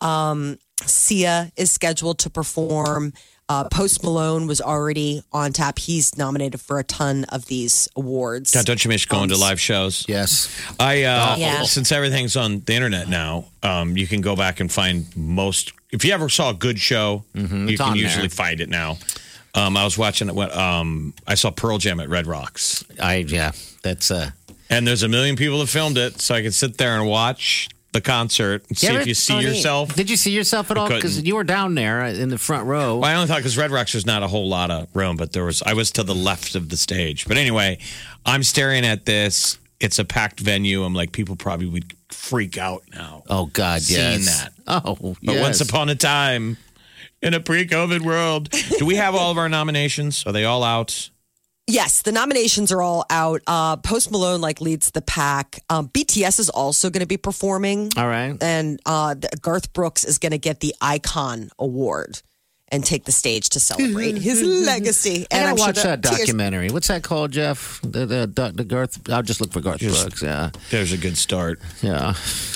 Speaker 5: Um, Sia is scheduled to perform. Uh, Post Malone was already on tap. He's nominated for a ton of these awards.
Speaker 4: God, don't you miss going to live shows?
Speaker 3: Yes.
Speaker 4: I uh,
Speaker 5: Yeah.
Speaker 4: Since everything's on the internet now, um, you can go back and find most. If you ever saw a good show, you
Speaker 3: it's
Speaker 4: can
Speaker 3: on
Speaker 4: usually
Speaker 3: there.
Speaker 4: find it now. Um, I was watching it when um, I saw Pearl Jam at Red Rocks,
Speaker 3: I. Yeah. That's. Uh.
Speaker 4: and there's a million people that filmed it, so I could sit there and watch the concert and see
Speaker 3: Yeah,
Speaker 4: if you see
Speaker 3: Tony,
Speaker 4: yourself.
Speaker 3: Did you see yourself at all? Because
Speaker 4: couldn't.
Speaker 3: you were down there in the front row.
Speaker 4: Well, I only thought because Red Rocks there's not a whole lot of room, but there was. I was to the left of the stage. But anyway, I'm staring at this. It's a packed venue. I'm like, people probably would freak out now.
Speaker 3: Oh God,
Speaker 4: seeing
Speaker 3: yes.
Speaker 4: that.
Speaker 3: Oh,
Speaker 4: But
Speaker 3: yes.
Speaker 4: once upon a time, in a pre-COVID world, do we have all of our nominations? Are they all out?
Speaker 5: Yes, the nominations are all out. Uh, Post Malone like leads the pack. Um, B T S is also going to be performing.
Speaker 3: All right.
Speaker 5: And uh, the- Garth Brooks is going to get the Icon Award and take the stage to celebrate his legacy.
Speaker 3: I
Speaker 5: And
Speaker 3: gotta
Speaker 5: I'm sure
Speaker 3: watch
Speaker 5: the
Speaker 3: that
Speaker 5: tears-
Speaker 3: documentary. What's that called, Jeff? The the, the, the Garth. I'll just look for Garth
Speaker 4: Just-
Speaker 3: Brooks. Yeah,
Speaker 4: There's a good start.
Speaker 3: yeah.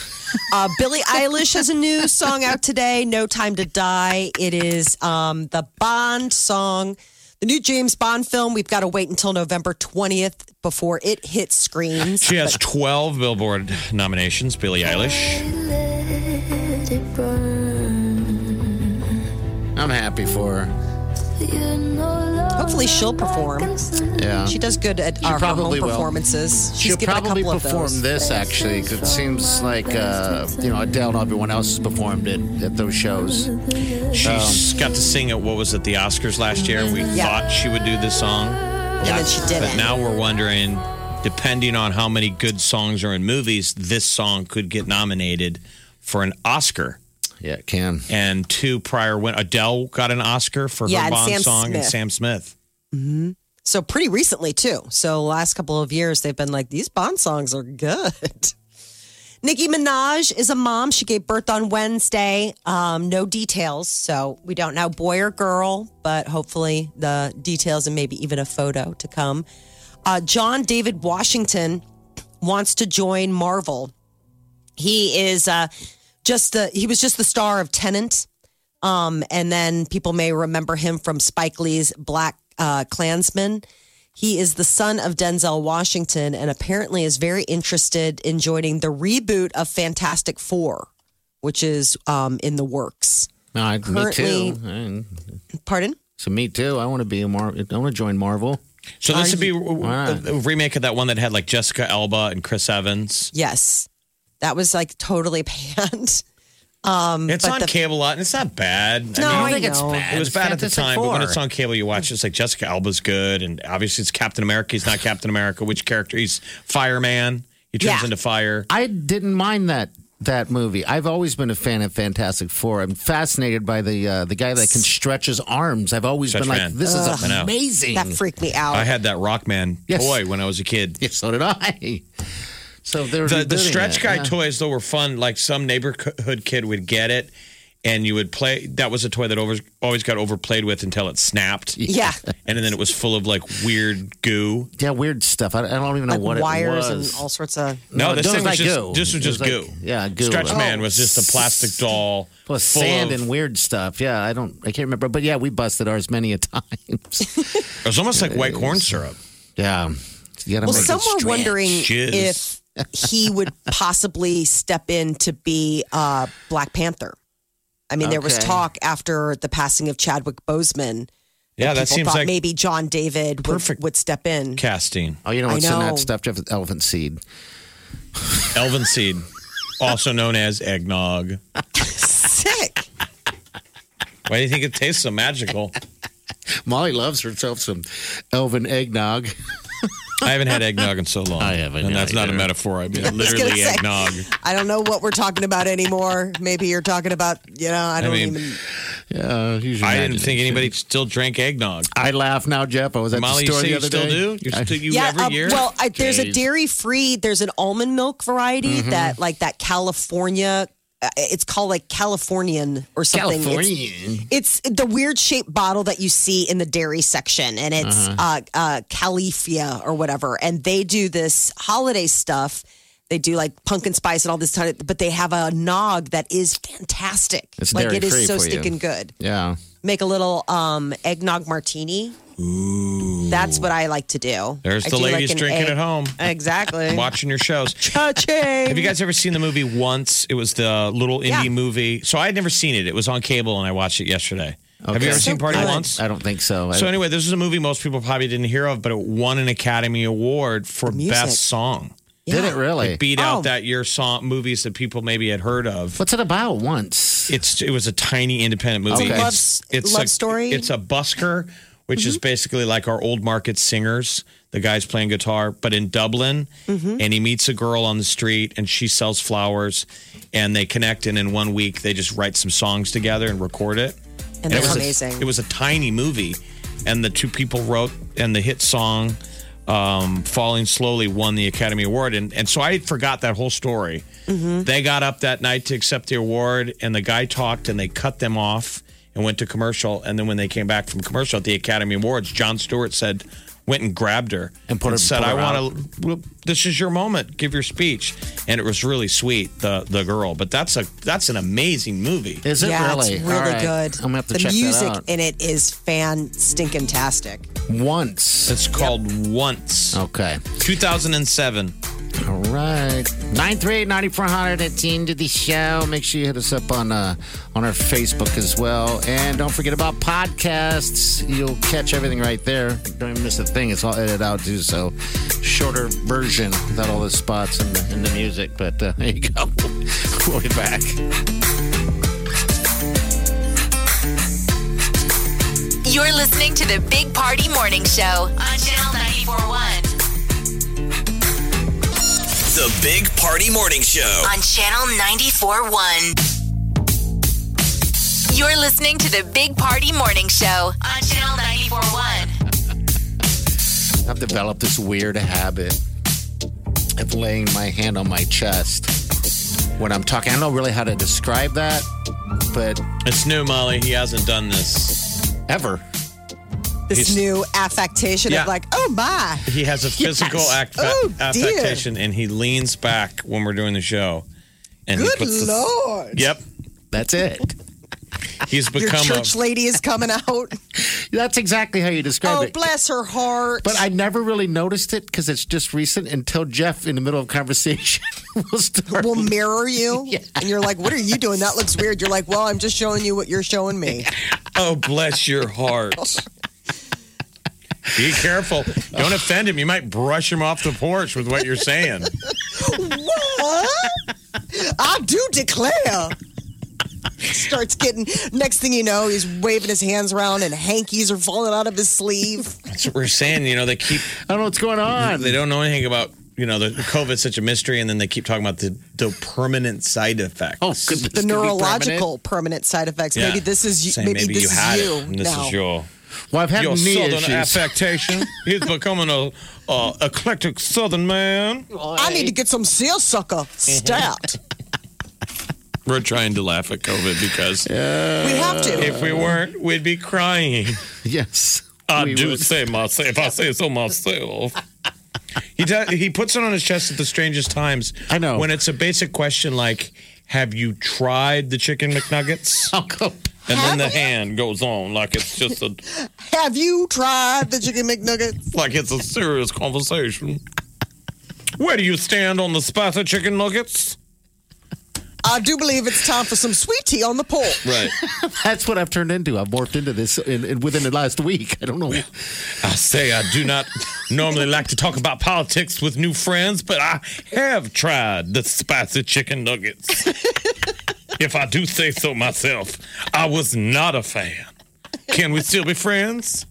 Speaker 5: Uh, Billie Eilish has a new song out today, No Time to Die. It is um, the Bond song, the new James Bond film. We've got to wait until November twentieth before it hits screens.
Speaker 4: She has twelve Billboard nominations, Billie Eilish.
Speaker 7: Let it burn.
Speaker 3: I'm happy for her.
Speaker 7: You're no longer
Speaker 5: Hopefully she'll perform.
Speaker 7: like a sun.
Speaker 3: Yeah.
Speaker 5: She does good at
Speaker 3: She
Speaker 5: uh, her
Speaker 3: probably
Speaker 5: home
Speaker 3: will.
Speaker 5: performances. She's
Speaker 3: She'll
Speaker 5: given
Speaker 3: probably
Speaker 5: a couple
Speaker 3: perform
Speaker 5: of those.
Speaker 3: this actually because it seems like uh, you know Adele and everyone else has performed it at those shows.
Speaker 4: She got to sing at, what was it, the Oscars last year? We
Speaker 5: Yeah.
Speaker 4: thought she would do this song.
Speaker 5: And then she didn't.
Speaker 4: But now we're wondering, depending on how many good songs are in movies, this song could get nominated for an Oscar.
Speaker 3: Yeah, it can.
Speaker 4: And two prior win. Adele got an Oscar for
Speaker 5: Yeah,
Speaker 4: her
Speaker 5: and
Speaker 4: Bond
Speaker 5: Sam
Speaker 4: song, and
Speaker 5: Smith.
Speaker 4: Sam Smith.
Speaker 5: So pretty recently too. So last couple of years they've been like, these Bond songs are good. Nicki Minaj is a mom. She gave birth on Wednesday. Um, no details, so we don't know boy or girl, but hopefully the details and maybe even a photo to come. Uh, John David Washington wants to join Marvel. He is uh, just the he was just the star of Tenet. Um, and then people may remember him from Spike Lee's Black uh, Klansman. He is the son of Denzel Washington and apparently is very interested in joining the reboot of Fantastic Four, which is um, in the works.
Speaker 3: No, I, me
Speaker 5: Currently-
Speaker 3: too. And-
Speaker 5: Pardon?
Speaker 3: So me too. I want to be a Mar. I want to join Marvel.
Speaker 4: So this would be a,
Speaker 3: Wow.
Speaker 4: a remake of that one that had like Jessica Alba and Chris Evans.
Speaker 5: Yes. That was like totally panned. Um,
Speaker 4: It's
Speaker 5: but
Speaker 4: on
Speaker 5: the-
Speaker 4: cable a lot, and it's not bad.
Speaker 5: No,
Speaker 4: I
Speaker 5: I
Speaker 4: mean,
Speaker 5: think it's know.
Speaker 3: bad.
Speaker 4: It was
Speaker 3: It's
Speaker 4: bad at the
Speaker 3: Fantastic
Speaker 4: time, but when
Speaker 3: Four.
Speaker 4: it's on cable, you watch. It's like Jessica Alba's good, and obviously it's Captain America. He's not Captain America. Which character? He's Fireman. He turns
Speaker 5: Yeah.
Speaker 4: into fire.
Speaker 3: I didn't mind that that movie. I've always been a fan of Fantastic Four. I'm fascinated by the uh, the guy that can stretch his arms. I've always
Speaker 4: Stretch
Speaker 3: been like,
Speaker 4: man.
Speaker 3: this
Speaker 4: Ugh.
Speaker 3: is
Speaker 4: I know.
Speaker 3: amazing.
Speaker 5: That freaked me out.
Speaker 4: I had that Rockman
Speaker 3: Yes.
Speaker 4: toy when I was a kid.
Speaker 3: Yeah, so did I. So they're
Speaker 4: The, the
Speaker 3: rebooting
Speaker 4: stretch
Speaker 3: that,
Speaker 4: guy
Speaker 3: yeah.
Speaker 4: toys, though, were fun. Like some neighborhood kid would get it, and you would play. That was a toy that over, always got overplayed with until it snapped.
Speaker 5: Yeah.
Speaker 4: And then it was full of like weird goo.
Speaker 3: Yeah, weird stuff. I, I don't even know
Speaker 5: Like
Speaker 3: what
Speaker 5: wires
Speaker 3: it
Speaker 5: and
Speaker 3: was.
Speaker 5: all sorts of.
Speaker 4: No,
Speaker 3: No,
Speaker 4: this
Speaker 3: it
Speaker 4: thing was
Speaker 3: was like
Speaker 4: just,
Speaker 3: goo.
Speaker 4: this was
Speaker 3: It
Speaker 4: just
Speaker 3: was
Speaker 4: goo.
Speaker 3: like- yeah, goo.
Speaker 4: Stretch
Speaker 3: Oh.
Speaker 4: Man was just a plastic doll.
Speaker 3: Plus
Speaker 4: full
Speaker 3: sand
Speaker 4: of-
Speaker 3: and weird stuff. Yeah, I don't. I can't remember. But yeah, we busted ours many a times.
Speaker 4: It was almost like white corn syrup.
Speaker 3: Yeah. You gotta
Speaker 5: Well,
Speaker 3: make it
Speaker 5: some were
Speaker 3: stretch.
Speaker 5: wondering
Speaker 4: Jizz.
Speaker 5: if he would possibly step in to be uh, Black Panther. I mean, there was
Speaker 3: Okay.
Speaker 5: talk after the passing of Chadwick Boseman.
Speaker 4: Yeah, that
Speaker 5: people
Speaker 4: seems
Speaker 5: thought
Speaker 4: like
Speaker 5: maybe John David would,
Speaker 4: perfect
Speaker 5: would step in.
Speaker 4: casting.
Speaker 3: Oh, you know
Speaker 5: I
Speaker 3: what's in
Speaker 5: know.
Speaker 3: that stuff? Jeff? Elephant seed.
Speaker 4: Elven seed, also known as eggnog.
Speaker 5: Sick.
Speaker 4: Why do you think it tastes so magical?
Speaker 3: Molly loves herself some elven eggnog.
Speaker 4: I haven't had eggnog in so long.
Speaker 3: I haven't
Speaker 4: And that's not a
Speaker 3: either.
Speaker 4: metaphor. I mean,
Speaker 5: I was
Speaker 4: literally
Speaker 5: gonna say,
Speaker 4: eggnog.
Speaker 5: I don't know what we're talking about anymore. Maybe you're talking about, you know, I don't
Speaker 4: mean,
Speaker 5: even.
Speaker 3: Yeah, use your
Speaker 4: I didn't think
Speaker 3: imagination.
Speaker 4: anybody still drank eggnog.
Speaker 3: I laugh now, Jeff. I was at
Speaker 4: Molly,
Speaker 3: the
Speaker 4: you
Speaker 3: store
Speaker 4: say
Speaker 3: the
Speaker 4: you
Speaker 3: other
Speaker 4: still
Speaker 3: day.
Speaker 4: do? You
Speaker 3: I-
Speaker 4: still you
Speaker 5: Yeah,
Speaker 4: every
Speaker 5: uh,
Speaker 4: year?
Speaker 5: well, I, there's a
Speaker 3: Jeez.
Speaker 5: dairy free. There's an almond milk variety
Speaker 3: Mm-hmm.
Speaker 5: that, like that California. Uh, it's called like Californian or something. It's-
Speaker 3: Californian.
Speaker 5: It's, the weird shaped bottle that you see in the dairy section, and it's
Speaker 3: Uh-huh.
Speaker 5: uh uh, Califia or whatever. And they do this holiday stuff. They do like pumpkin spice and all this kind of, but they have a nog that is fantastic.
Speaker 3: It's
Speaker 5: like it
Speaker 3: dairy-free
Speaker 5: is so
Speaker 3: for you.
Speaker 5: stinking good.
Speaker 3: Yeah.
Speaker 5: Make a little um, eggnog martini. Ooh. That's what I like to do.
Speaker 4: There's
Speaker 5: I
Speaker 4: the
Speaker 5: do like
Speaker 4: ladies
Speaker 5: an
Speaker 4: drinking
Speaker 5: egg-
Speaker 4: at home.
Speaker 5: Exactly.
Speaker 4: Watching your shows.
Speaker 5: Cha-ching.
Speaker 4: Have you guys ever seen the movie Once? It was the little indie
Speaker 5: Yeah.
Speaker 4: movie. So I had never seen it. It was on cable, and I watched it yesterday. Have you ever
Speaker 5: So
Speaker 4: seen Party
Speaker 5: good.
Speaker 4: Once?
Speaker 3: I don't think so.
Speaker 4: So
Speaker 3: I,
Speaker 4: anyway, this is a movie most people probably didn't hear of, but it won an Academy Award for
Speaker 5: music.
Speaker 4: Best Song.
Speaker 3: did it really?
Speaker 4: It beat
Speaker 5: Oh.
Speaker 4: out that year song movies that people maybe had heard of.
Speaker 3: What's it about? Once.
Speaker 4: It's it was a tiny independent movie.
Speaker 3: Okay.
Speaker 5: Love-
Speaker 4: It's, it's
Speaker 5: love
Speaker 4: a,
Speaker 5: story?
Speaker 4: It's a busker, which is basically like our old market singers. The guy's playing guitar, but in Dublin, and he meets a girl on the street, and she sells flowers, and they connect, and in one week they just write some songs together and record it.
Speaker 5: And
Speaker 4: it
Speaker 5: that's
Speaker 4: was
Speaker 5: amazing.
Speaker 4: A, it was a tiny movie, and the two people wrote, and the hit song, um, Falling Slowly, won the Academy Award. And, and so I forgot that whole story. They got up that night to accept the award, and the guy talked, and they cut them off and went to commercial. And then when they came back from commercial at the Academy Awards, Jon Stewart said, went and grabbed her
Speaker 3: And put her-
Speaker 4: said,
Speaker 3: put
Speaker 4: I
Speaker 3: her
Speaker 4: want to, well, this is your moment. Give your speech. And it was really sweet, the the girl. But that's a that's an amazing movie.
Speaker 3: Is it
Speaker 5: yeah,
Speaker 3: really?
Speaker 5: it's really
Speaker 3: All right.
Speaker 5: good.
Speaker 3: I'm gonna have to
Speaker 5: the
Speaker 3: check
Speaker 5: music
Speaker 3: that out.
Speaker 5: in it is fan stinking tastic.
Speaker 3: Once.
Speaker 4: It's called Once.
Speaker 3: Okay.
Speaker 4: two thousand seven.
Speaker 3: All right. nine three eight, nine four hundred at the end of the show. Make sure you hit us up on uh, on our Facebook as well. And don't forget about podcasts. You'll catch everything right there. Don't even miss a thing. It's all edited out too. So shorter version without all the spots and the, and the music. But uh, there you go. We'll be back.
Speaker 2: You're listening to the Big Party Morning Show on Channel ninety-four point one.
Speaker 6: The Big Party Morning Show.
Speaker 2: On Channel ninety-four point one. You're listening to the Big Party Morning Show on Channel ninety-four point one.
Speaker 3: I've developed this weird habit of laying my hand on my chest when I'm talking. I don't know really how to describe that, but
Speaker 4: It's new, Molly. He hasn't done this.
Speaker 3: ever.
Speaker 5: This
Speaker 4: He's-
Speaker 5: new affectation
Speaker 4: Yeah.
Speaker 5: of like, oh my.
Speaker 4: He has a physical act,
Speaker 5: Oh, dear.
Speaker 4: affectation, and he leans back when we're doing the show. And he
Speaker 5: Good
Speaker 4: puts the-
Speaker 5: Lord.
Speaker 4: Yep.
Speaker 3: That's it.
Speaker 4: He's
Speaker 5: Your
Speaker 4: become
Speaker 5: church
Speaker 4: a.
Speaker 5: lady is coming out.
Speaker 3: That's exactly how you describe
Speaker 5: Oh,
Speaker 3: it.
Speaker 5: bless her heart.
Speaker 3: But I never really noticed it because it's just recent until Jeff, in the middle of conversation, will start.
Speaker 5: will mirror you.
Speaker 3: Yeah.
Speaker 5: And you're like, what are you doing? That looks weird. You're like, well, I'm just showing you what you're showing me.
Speaker 4: Oh, bless your heart. Be careful. Don't offend him. You might brush him off the porch with what you're saying.
Speaker 5: What? I do declare. Starts getting, next thing you know, he's waving his hands around and hankies are falling out of his sleeve.
Speaker 4: That's what we're saying. You know, they keep.
Speaker 3: I don't know what's going on.
Speaker 4: They don't know anything about you know, the COVID's such a mystery, and then they keep talking about the, the permanent side effects.
Speaker 3: Oh, goodness.
Speaker 5: The neurological permanent? permanent side effects.
Speaker 4: Yeah.
Speaker 5: Maybe this is you.
Speaker 4: Saying
Speaker 5: Maybe,
Speaker 4: maybe
Speaker 5: this
Speaker 4: you
Speaker 5: is
Speaker 4: had
Speaker 5: you
Speaker 4: it, and this
Speaker 5: now.
Speaker 4: is your
Speaker 3: Well, I've had
Speaker 4: your
Speaker 3: knee
Speaker 4: southern
Speaker 3: issues.
Speaker 4: affectation. He's becoming a uh, eclectic southern man.
Speaker 5: I need to get some seersucker stat.
Speaker 4: We're trying to laugh at COVID because
Speaker 5: we have to.
Speaker 4: if we weren't, we'd be crying.
Speaker 3: Yes.
Speaker 4: I
Speaker 3: we
Speaker 4: do
Speaker 3: would.
Speaker 4: say myself. If I say so myself. He does, he puts it on his chest at the strangest times.
Speaker 3: I know.
Speaker 4: When it's a basic question like, have you tried the chicken McNuggets?
Speaker 3: I'll go.
Speaker 4: And then the hand goes on like it's just a
Speaker 5: Have you tried the chicken McNuggets?
Speaker 4: like it's a serious conversation. Where do you stand on the spicy chicken nuggets?
Speaker 5: I do believe it's time for some sweet tea on the porch.
Speaker 4: Right.
Speaker 3: That's what I've turned into. I've morphed into this in, in, within the last week. I don't know.
Speaker 4: I say I do not normally like to talk about politics with new friends, but I have tried the spicy chicken nuggets. If I do say so myself, I was not a fan. Can we still be friends?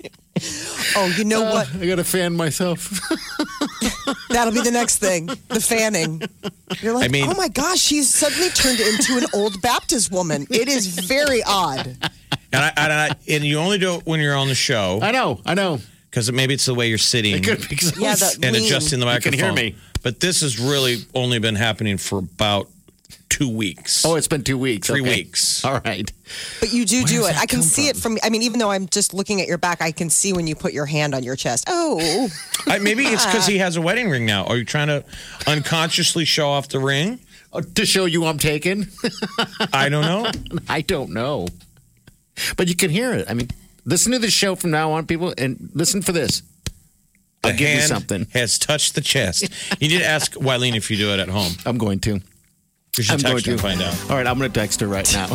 Speaker 5: Oh, you know
Speaker 3: Uh,
Speaker 5: what?
Speaker 3: I got to fan myself.
Speaker 5: That'll be the next thing. The fanning. You're like,
Speaker 4: I mean-
Speaker 5: oh my gosh, she's suddenly turned into an old Baptist woman. It is very odd.
Speaker 4: And I, and, I, and you only do it when you're on the show
Speaker 3: I know. I know.
Speaker 4: because maybe it's the way you're sitting
Speaker 3: It could be close.
Speaker 5: Yeah, the-
Speaker 4: and
Speaker 5: lean.
Speaker 4: adjusting the
Speaker 3: You
Speaker 4: microphone.
Speaker 3: can hear me.
Speaker 4: But this has really only been happening for about two weeks.
Speaker 3: Oh, it's been two weeks.
Speaker 4: Three
Speaker 3: Okay.
Speaker 4: weeks.
Speaker 3: All right.
Speaker 5: But you do do
Speaker 3: does
Speaker 5: it.
Speaker 3: that
Speaker 5: I can
Speaker 3: come
Speaker 5: see it from, I mean, even though I'm just looking at your back, I can see when you put your hand on your chest. Oh.
Speaker 4: I, maybe it's because he has a wedding ring now. Are you trying to unconsciously show off the ring?
Speaker 3: Uh, to show you I'm taken.
Speaker 4: I don't know.
Speaker 3: I don't know. But you can hear it. I mean, listen to the show from now on, people, and listen for this.
Speaker 4: The
Speaker 3: I'll give you
Speaker 4: hand
Speaker 3: something.
Speaker 4: has touched the chest. You need to ask Wileen if you do it at home.
Speaker 3: I'm going to.
Speaker 4: You should
Speaker 3: I'm
Speaker 4: text her
Speaker 3: going
Speaker 4: and
Speaker 3: to
Speaker 4: find out.
Speaker 3: All right, I'm going to text her right now.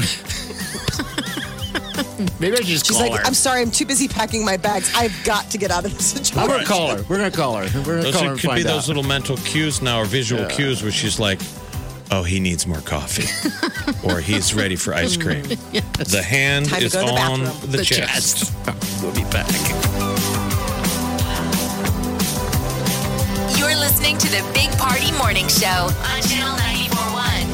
Speaker 3: Maybe I should just
Speaker 5: She's
Speaker 3: call
Speaker 5: like,
Speaker 3: her.
Speaker 5: I'm sorry, I'm too busy packing my bags. I've got to get out of this situation.
Speaker 3: I'm going to call her. We're going to call her. We're going to
Speaker 4: Those
Speaker 3: call her
Speaker 4: are-
Speaker 3: and
Speaker 4: could be
Speaker 3: find
Speaker 4: those
Speaker 3: out.
Speaker 4: little mental cues now or visual cues where she's like, oh, he needs more coffee. Or he's ready for ice cream. The hand
Speaker 5: Time to
Speaker 4: is
Speaker 5: go to the
Speaker 4: on
Speaker 5: bathroom.
Speaker 4: the,
Speaker 3: The
Speaker 4: chest.
Speaker 3: chest. We'll be back.
Speaker 2: You're listening to the Big Party Morning Show on Channel ninety-four point one.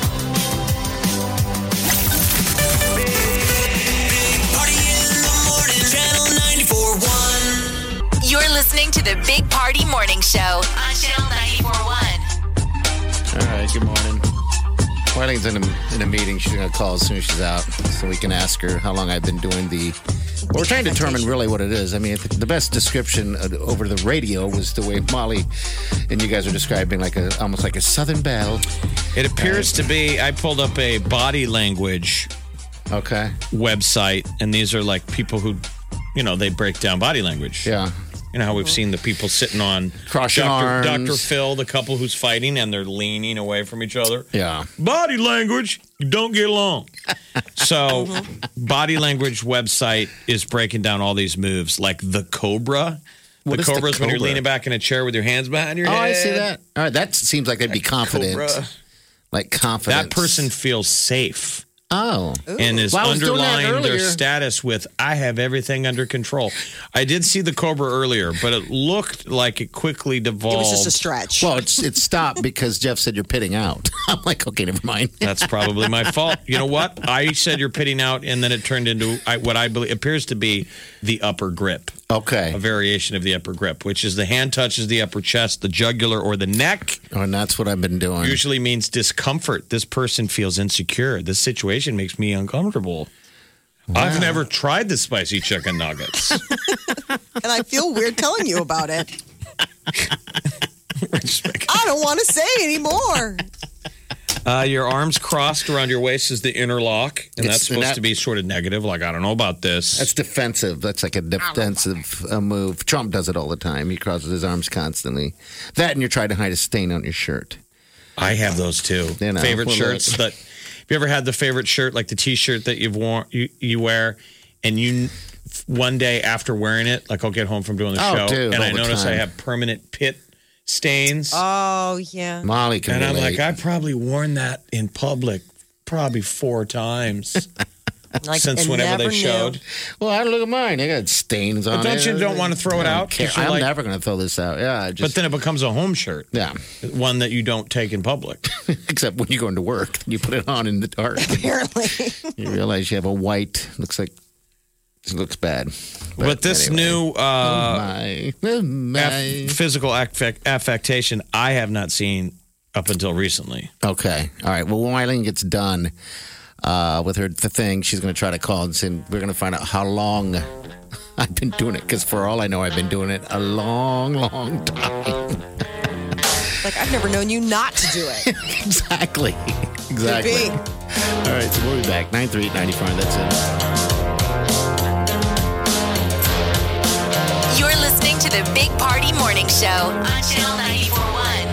Speaker 6: Party in the morning, Channel ninety-four point one.
Speaker 2: You're listening to the Big Party Morning Show on Channel ninety-four point one.
Speaker 3: All right, good morning. Wileen's in a, in a meeting. She's going to call as soon as she's out so we can ask her how long I've been doing the. Well, we're trying to determine really what it is. I mean, the best description uh, over the radio was the way Molly and you guys are describing, like a almost like a Southern belle.
Speaker 4: It appears to be, I pulled up a body language
Speaker 3: Okay.
Speaker 4: website, and these are like people who, you know, they break down body language.
Speaker 3: Yeah.
Speaker 4: You know how we've seen the people sitting on
Speaker 3: Cross your
Speaker 4: Doctor
Speaker 3: arms.
Speaker 4: Doctor Phil, the couple who's fighting, and they're leaning away from each other.
Speaker 3: Yeah.
Speaker 4: Body language, you don't get along. So, body language website is breaking down all these moves, like the cobra.
Speaker 3: What
Speaker 4: the
Speaker 3: is the
Speaker 4: cobra is when you're
Speaker 3: cobra?
Speaker 4: leaning back in a chair with your hands behind your
Speaker 3: Oh,
Speaker 4: head.
Speaker 3: I see that. All right, that seems like they'd be confident.
Speaker 4: Cobra.
Speaker 3: Like confident.
Speaker 4: That person feels safe.
Speaker 3: Oh.
Speaker 4: And is
Speaker 3: Well, I was doing that
Speaker 4: underlying their
Speaker 3: earlier.
Speaker 4: status with "I have everything under control." I did see the cobra earlier, but it looked like it quickly devolved.
Speaker 5: It was just a stretch.
Speaker 3: Well, it's it stopped because Jeff said you're pitting out. I'm like, okay, never mind.
Speaker 4: That's probably my fault. You know what? I said you're pitting out, and then it turned into I, what I believe appears to be the upper grip,
Speaker 3: Okay.
Speaker 4: a variation of the upper grip, which is the hand touches the upper chest, the jugular, or the neck.
Speaker 3: Oh, and that's what I've been doing.
Speaker 4: Usually means discomfort. This person feels insecure. This situation makes me uncomfortable. I've never tried the spicy chicken nuggets.
Speaker 5: And I feel weird telling you about it. I don't want to say anymore.
Speaker 4: Uh, your arms crossed around your waist is the interlock, and
Speaker 3: It's-
Speaker 4: that's supposed
Speaker 3: and that-
Speaker 4: to be sort of negative. Like, I don't know about this.
Speaker 3: That's defensive. That's like a defensive uh, move. Trump does it all the time. He crosses his arms constantly. That and you're trying to hide a stain on your shirt.
Speaker 4: I have those too.
Speaker 3: You know,
Speaker 4: favorite
Speaker 3: well,
Speaker 4: shirts
Speaker 3: look.
Speaker 4: that. Have you ever had the favorite shirt, like the T-shirt that you've worn, you, you wear, and you one day after wearing it, like I'll get home from doing the
Speaker 3: Oh,
Speaker 4: show,
Speaker 3: dude,
Speaker 4: and
Speaker 3: all
Speaker 4: I
Speaker 3: the
Speaker 4: notice I
Speaker 3: time.
Speaker 4: have permanent pit stains,
Speaker 5: Oh, yeah.
Speaker 3: Molly can
Speaker 4: and I'm
Speaker 3: relate.
Speaker 4: like, I've probably worn that in public probably four times.
Speaker 5: Like,
Speaker 4: Since
Speaker 5: and
Speaker 4: whenever
Speaker 5: never
Speaker 4: they
Speaker 5: knew.
Speaker 4: showed.
Speaker 3: Well, I look at mine. I got stains on
Speaker 4: But don't
Speaker 3: it.
Speaker 4: you don't want to throw it
Speaker 3: I don't
Speaker 4: out? 'Cause
Speaker 3: care.
Speaker 4: you're
Speaker 3: I'm
Speaker 4: like-
Speaker 3: never going to throw this out. Yeah, I
Speaker 4: But
Speaker 3: just,
Speaker 4: then it becomes a home shirt.
Speaker 3: yeah.
Speaker 4: One that you don't take in public.
Speaker 3: Except when you're going to work, you put it on in the dark.
Speaker 5: Apparently.
Speaker 3: You realize you have a white. Looks like it looks bad.
Speaker 4: But, this
Speaker 3: anyway.
Speaker 4: new uh,
Speaker 3: Oh my, oh my.
Speaker 4: aff- physical affect- affectation, I have not seen up until recently.
Speaker 3: Okay. All right. Well, when Eileen gets done uh, with her the thing, she's going to try to call and say, we're going to find out how long I've been doing it. Because for all I know, I've been doing it a long, long time.
Speaker 5: Like, I've never known you not to do it.
Speaker 3: Exactly. Exactly.
Speaker 5: Could be.
Speaker 3: All right. So we'll be back. nine three eight, nine four. That's it.
Speaker 2: You're listening to the Big Party Morning Show on Channel ninety-four point one.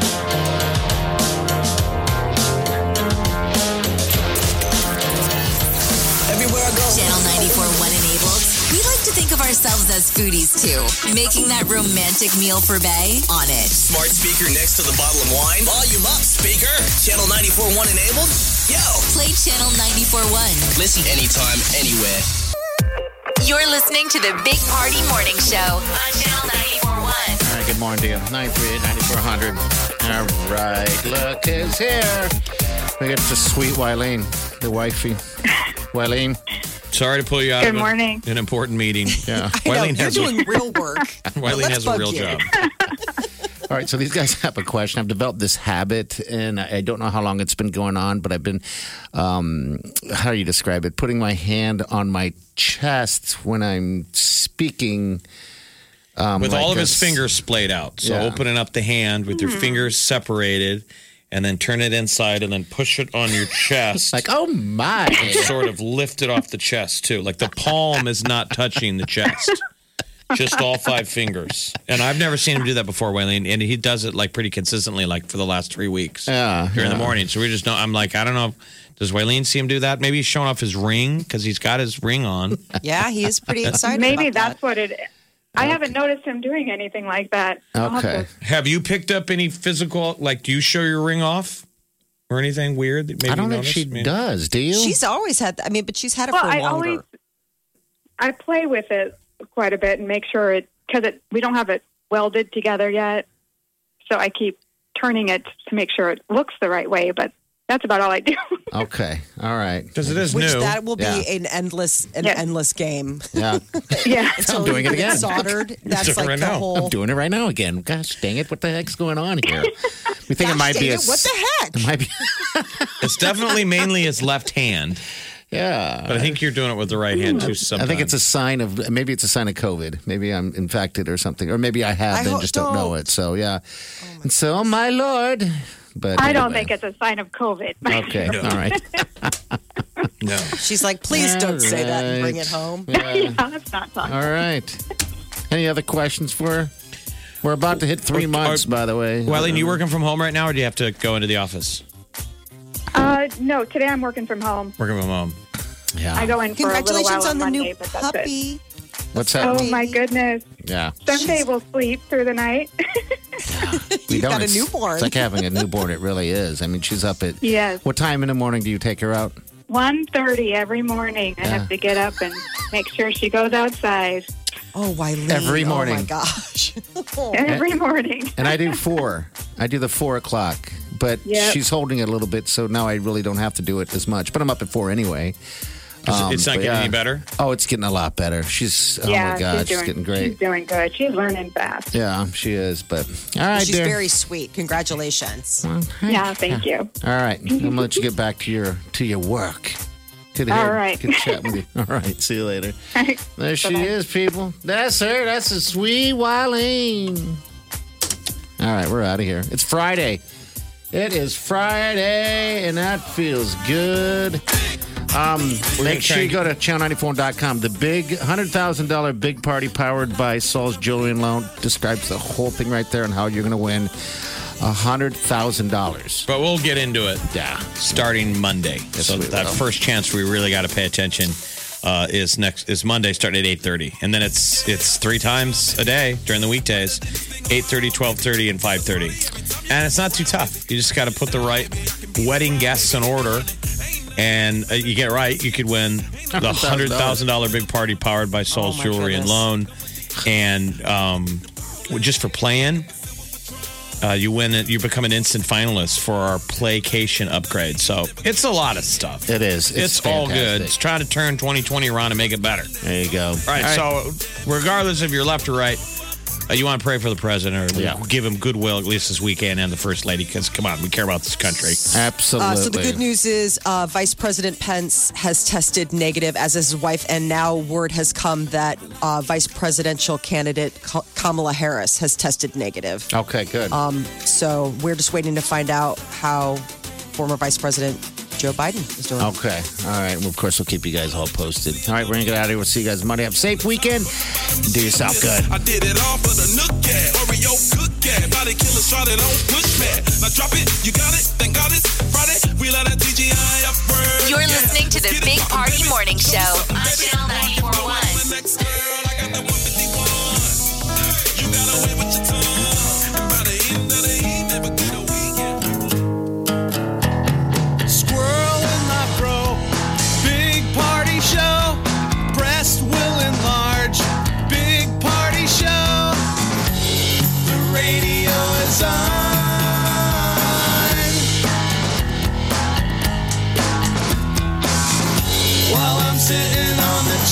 Speaker 6: Everywhere I go.
Speaker 2: Channel ninety-four point one enabled. We like to think of ourselves as foodies too, making that romantic meal for Bay on it.
Speaker 6: Smart speaker next to the bottle of wine. Volume up, speaker. Channel ninety-four point one enabled. Yo.
Speaker 2: Play Channel ninety-four point one.
Speaker 6: Listen anytime, anywhere.
Speaker 2: You're listening to the Big Party Morning Show on Channel ninety-four point one.
Speaker 3: All right. Good morning to you. nine three eight, nine four hundred. All right. Look who's here. We got the sweet Wileen, the wifey. Wileen.
Speaker 4: Sorry to pull you out
Speaker 12: Good
Speaker 4: of
Speaker 12: morning.
Speaker 4: an, an important meeting.
Speaker 3: Yeah.
Speaker 5: I know,
Speaker 4: Wileen
Speaker 5: you're
Speaker 4: has
Speaker 5: doing
Speaker 4: a,
Speaker 5: real work.
Speaker 4: Wileen
Speaker 5: Let's
Speaker 4: has a
Speaker 5: bug
Speaker 4: real
Speaker 5: you.
Speaker 4: job.
Speaker 3: All right, so these guys have a question. I've developed this habit, and I don't know how long it's been going on, but I've been, um, how do you describe it? Putting my hand on my chest when I'm speaking. Um,
Speaker 4: With
Speaker 3: like
Speaker 4: all of
Speaker 3: a
Speaker 4: his
Speaker 3: s-
Speaker 4: fingers splayed out. So
Speaker 3: Yeah.
Speaker 4: opening up the hand with your fingers separated and then turn it inside and then push it on your chest.
Speaker 3: Like, oh my.
Speaker 4: Sort of lift it off the chest too. Like the palm is not touching the chest. Just all five fingers. And I've never seen him do that before, Wileen. And he does it like pretty consistently, like for the last three weeks.
Speaker 3: Yeah,
Speaker 4: During
Speaker 3: yeah.
Speaker 4: the morning. So we just know, I'm like, I don't know. Does Wileen see him do that? Maybe he's showing off his ring because he's got his ring on.
Speaker 5: Yeah, he is pretty excited.
Speaker 12: Maybe
Speaker 5: about
Speaker 12: that's
Speaker 5: that.
Speaker 12: what it is. I haven't noticed him doing anything like that. I'll have
Speaker 3: Okay.
Speaker 12: to-
Speaker 4: Have you picked up any physical, like, do you show your ring off? Or anything weird that maybe
Speaker 3: I don't
Speaker 4: you
Speaker 3: think she
Speaker 4: noticed? I mean,
Speaker 3: does. Do you?
Speaker 5: She's always had that. I mean, but she's had it
Speaker 12: Well,
Speaker 5: for
Speaker 12: I
Speaker 5: longer.
Speaker 12: always I play with it quite a bit and make sure it because it we don't have it welded together yet, so I keep turning it to make sure it looks the right way. But that's about all I do.
Speaker 3: Okay. All right.
Speaker 4: Because it is
Speaker 5: Which
Speaker 4: new.
Speaker 5: that will be
Speaker 3: Yeah.
Speaker 5: an endless, an
Speaker 12: Yes.
Speaker 5: endless game.
Speaker 3: Yeah.
Speaker 12: yeah.
Speaker 5: Until
Speaker 3: doing
Speaker 5: you
Speaker 3: it
Speaker 5: get
Speaker 3: again.
Speaker 5: Soldered. That's
Speaker 4: doing it
Speaker 5: like
Speaker 4: right
Speaker 5: the
Speaker 4: now.
Speaker 5: whole.
Speaker 3: I'm doing it right now again. Gosh dang it. What the heck's going on here? We think
Speaker 5: Gosh
Speaker 3: it might
Speaker 5: dang
Speaker 3: be a.
Speaker 5: it, what the heck?
Speaker 3: It might be.
Speaker 4: It's definitely mainly his left hand.
Speaker 3: Yeah.
Speaker 4: But I think you're doing it with the right hand too
Speaker 3: I
Speaker 4: sometimes.
Speaker 3: think it's a sign of maybe it's a sign of COVID. Maybe I'm infected or something, or maybe I have
Speaker 5: I
Speaker 3: and
Speaker 5: hope-
Speaker 3: just don't know
Speaker 5: don't.
Speaker 3: it. So yeah, and so oh my lord. But
Speaker 12: I don't
Speaker 3: anyway.
Speaker 12: think it's a sign of COVID.
Speaker 3: Okay, all right.
Speaker 4: No.
Speaker 5: She's like, please don't say that and bring it home.
Speaker 3: Yeah.
Speaker 12: yeah, that's not talking.
Speaker 3: All right. Any other questions for her? We're about to hit three
Speaker 4: Are-
Speaker 3: months,
Speaker 4: are-
Speaker 3: by the way.
Speaker 4: Wileen, you working from home right now or do you have to go into the office?
Speaker 12: Uh, no, today I'm working from home.
Speaker 4: Working from home.
Speaker 3: Yeah.
Speaker 12: I go in for a little
Speaker 5: Congratulations
Speaker 12: while
Speaker 5: on the
Speaker 12: Monday,
Speaker 5: new
Speaker 12: but that's it.
Speaker 5: puppy.
Speaker 3: What's that?
Speaker 12: Oh my goodness!
Speaker 3: Yeah.
Speaker 12: Someday we'll sleep through the night.
Speaker 3: We
Speaker 5: You've got a
Speaker 3: It's-
Speaker 5: newborn.
Speaker 3: It's like having a newborn. It really is. I mean, she's up at.
Speaker 12: Yes.
Speaker 3: What time in the morning do you take her out?
Speaker 12: one thirty every morning. I
Speaker 3: Yeah.
Speaker 12: have to get up and make sure she goes outside
Speaker 5: Oh, Wileen.
Speaker 3: Every
Speaker 5: Oh, my
Speaker 3: morning.
Speaker 5: gosh.
Speaker 12: every morning.
Speaker 3: And I do four. I do the four o'clock. But
Speaker 12: Yep.
Speaker 3: she's holding it a little bit, so now I really don't have to do it as much. But I'm up at four anyway. Um,
Speaker 4: it's not
Speaker 3: but
Speaker 4: getting
Speaker 3: yeah.
Speaker 4: any better?
Speaker 3: Oh, it's getting a lot better. She's oh
Speaker 12: yeah,
Speaker 3: my god,
Speaker 12: she's,
Speaker 3: she's,
Speaker 12: doing,
Speaker 3: getting great.
Speaker 12: She's doing good. She's learning fast.
Speaker 3: Yeah, she is. But all right,
Speaker 5: She's
Speaker 3: dear.
Speaker 5: very sweet. Congratulations.
Speaker 12: Yeah, thank you.
Speaker 3: All right, I'm gonna let you get back to your to your work. Good to
Speaker 12: All
Speaker 3: hear-
Speaker 12: right.
Speaker 3: Good chat with you. All right, see you later. There she
Speaker 12: Bye-bye.
Speaker 3: is, people. That's her. That's a sweet Wileen. All right, we're out of here. It's Friday. It is Friday, and that feels good. Um, make sure you go to channel ninety-four dot com. The big one hundred thousand dollars big party powered by Saul's Jewelry and Loan describes the whole thing right there and how you're going to win one hundred thousand dollars.
Speaker 4: But we'll get into it.
Speaker 3: Yeah.
Speaker 4: Starting Monday.
Speaker 3: Yes,
Speaker 4: so
Speaker 3: we
Speaker 4: that
Speaker 3: will.
Speaker 4: first chance we really got to pay attention uh, is next is Monday starting at eight thirty. And then it's it's three times a day during the weekdays. eight thirty, twelve thirty, and five thirty. And it's not too tough. You just got to put the right wedding guests in order. And uh, you get it right, you could win the one hundred thousand dollars big party powered by Soul's
Speaker 5: Oh, my
Speaker 4: Jewelry and
Speaker 5: goodness.
Speaker 4: Loan. And um, just for playing, uh, you win it. You become an instant finalist for our Playcation upgrade. So it's a lot of stuff.
Speaker 3: It is.
Speaker 4: It's,
Speaker 3: It's
Speaker 4: all
Speaker 3: fantastic.
Speaker 4: good. It's trying to turn twenty twenty around and make it better.
Speaker 3: There you go.
Speaker 4: All right, so regardless if you're left or right, uh, you want to pray for the president or
Speaker 3: Yeah.
Speaker 4: give him goodwill at least this weekend and the first lady because, come on, we care about this country.
Speaker 3: Absolutely.
Speaker 5: Uh, so the good news is uh, Vice President Pence has tested negative, as is his wife, and now word has come that uh, Vice Presidential candidate Ka- Kamala Harris has tested negative.
Speaker 3: Okay, good.
Speaker 5: Um, so we're just waiting to find out how former Vice President Joe Biden is doing.
Speaker 3: Okay. All right. Well, of course, we'll keep you guys all posted. All right, we're going to get out of here. We'll see you guys Monday. Have a safe weekend. Do yourself good.
Speaker 13: I did it all for the Nook Cat, Oreo Cook Cat, Body Killer started on push mat. Now drop it, you got it, thank God it's Friday. We let that D J I up first.
Speaker 2: You're listening to the Big Party Morning Show on Channel ninety-four point one.
Speaker 13: Next girl, I got that one fifty-one. You got away with your tongue. By the end of the evening, but good weekend.
Speaker 14: Squirrel in my fro, big party show. Breast will enlarge, big party show. The radio is on. While I'm sitting on the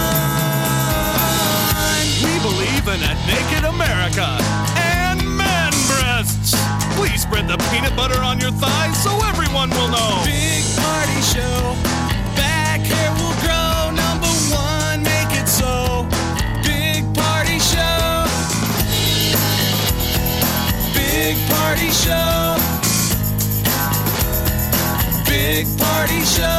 Speaker 14: john. We believe in a naked America and man breasts. Please spread the peanut butter on your thighs so everyone will know. Big party show. Back hair will grow. Number one, make it so. Big party show. Big party show. Big party show.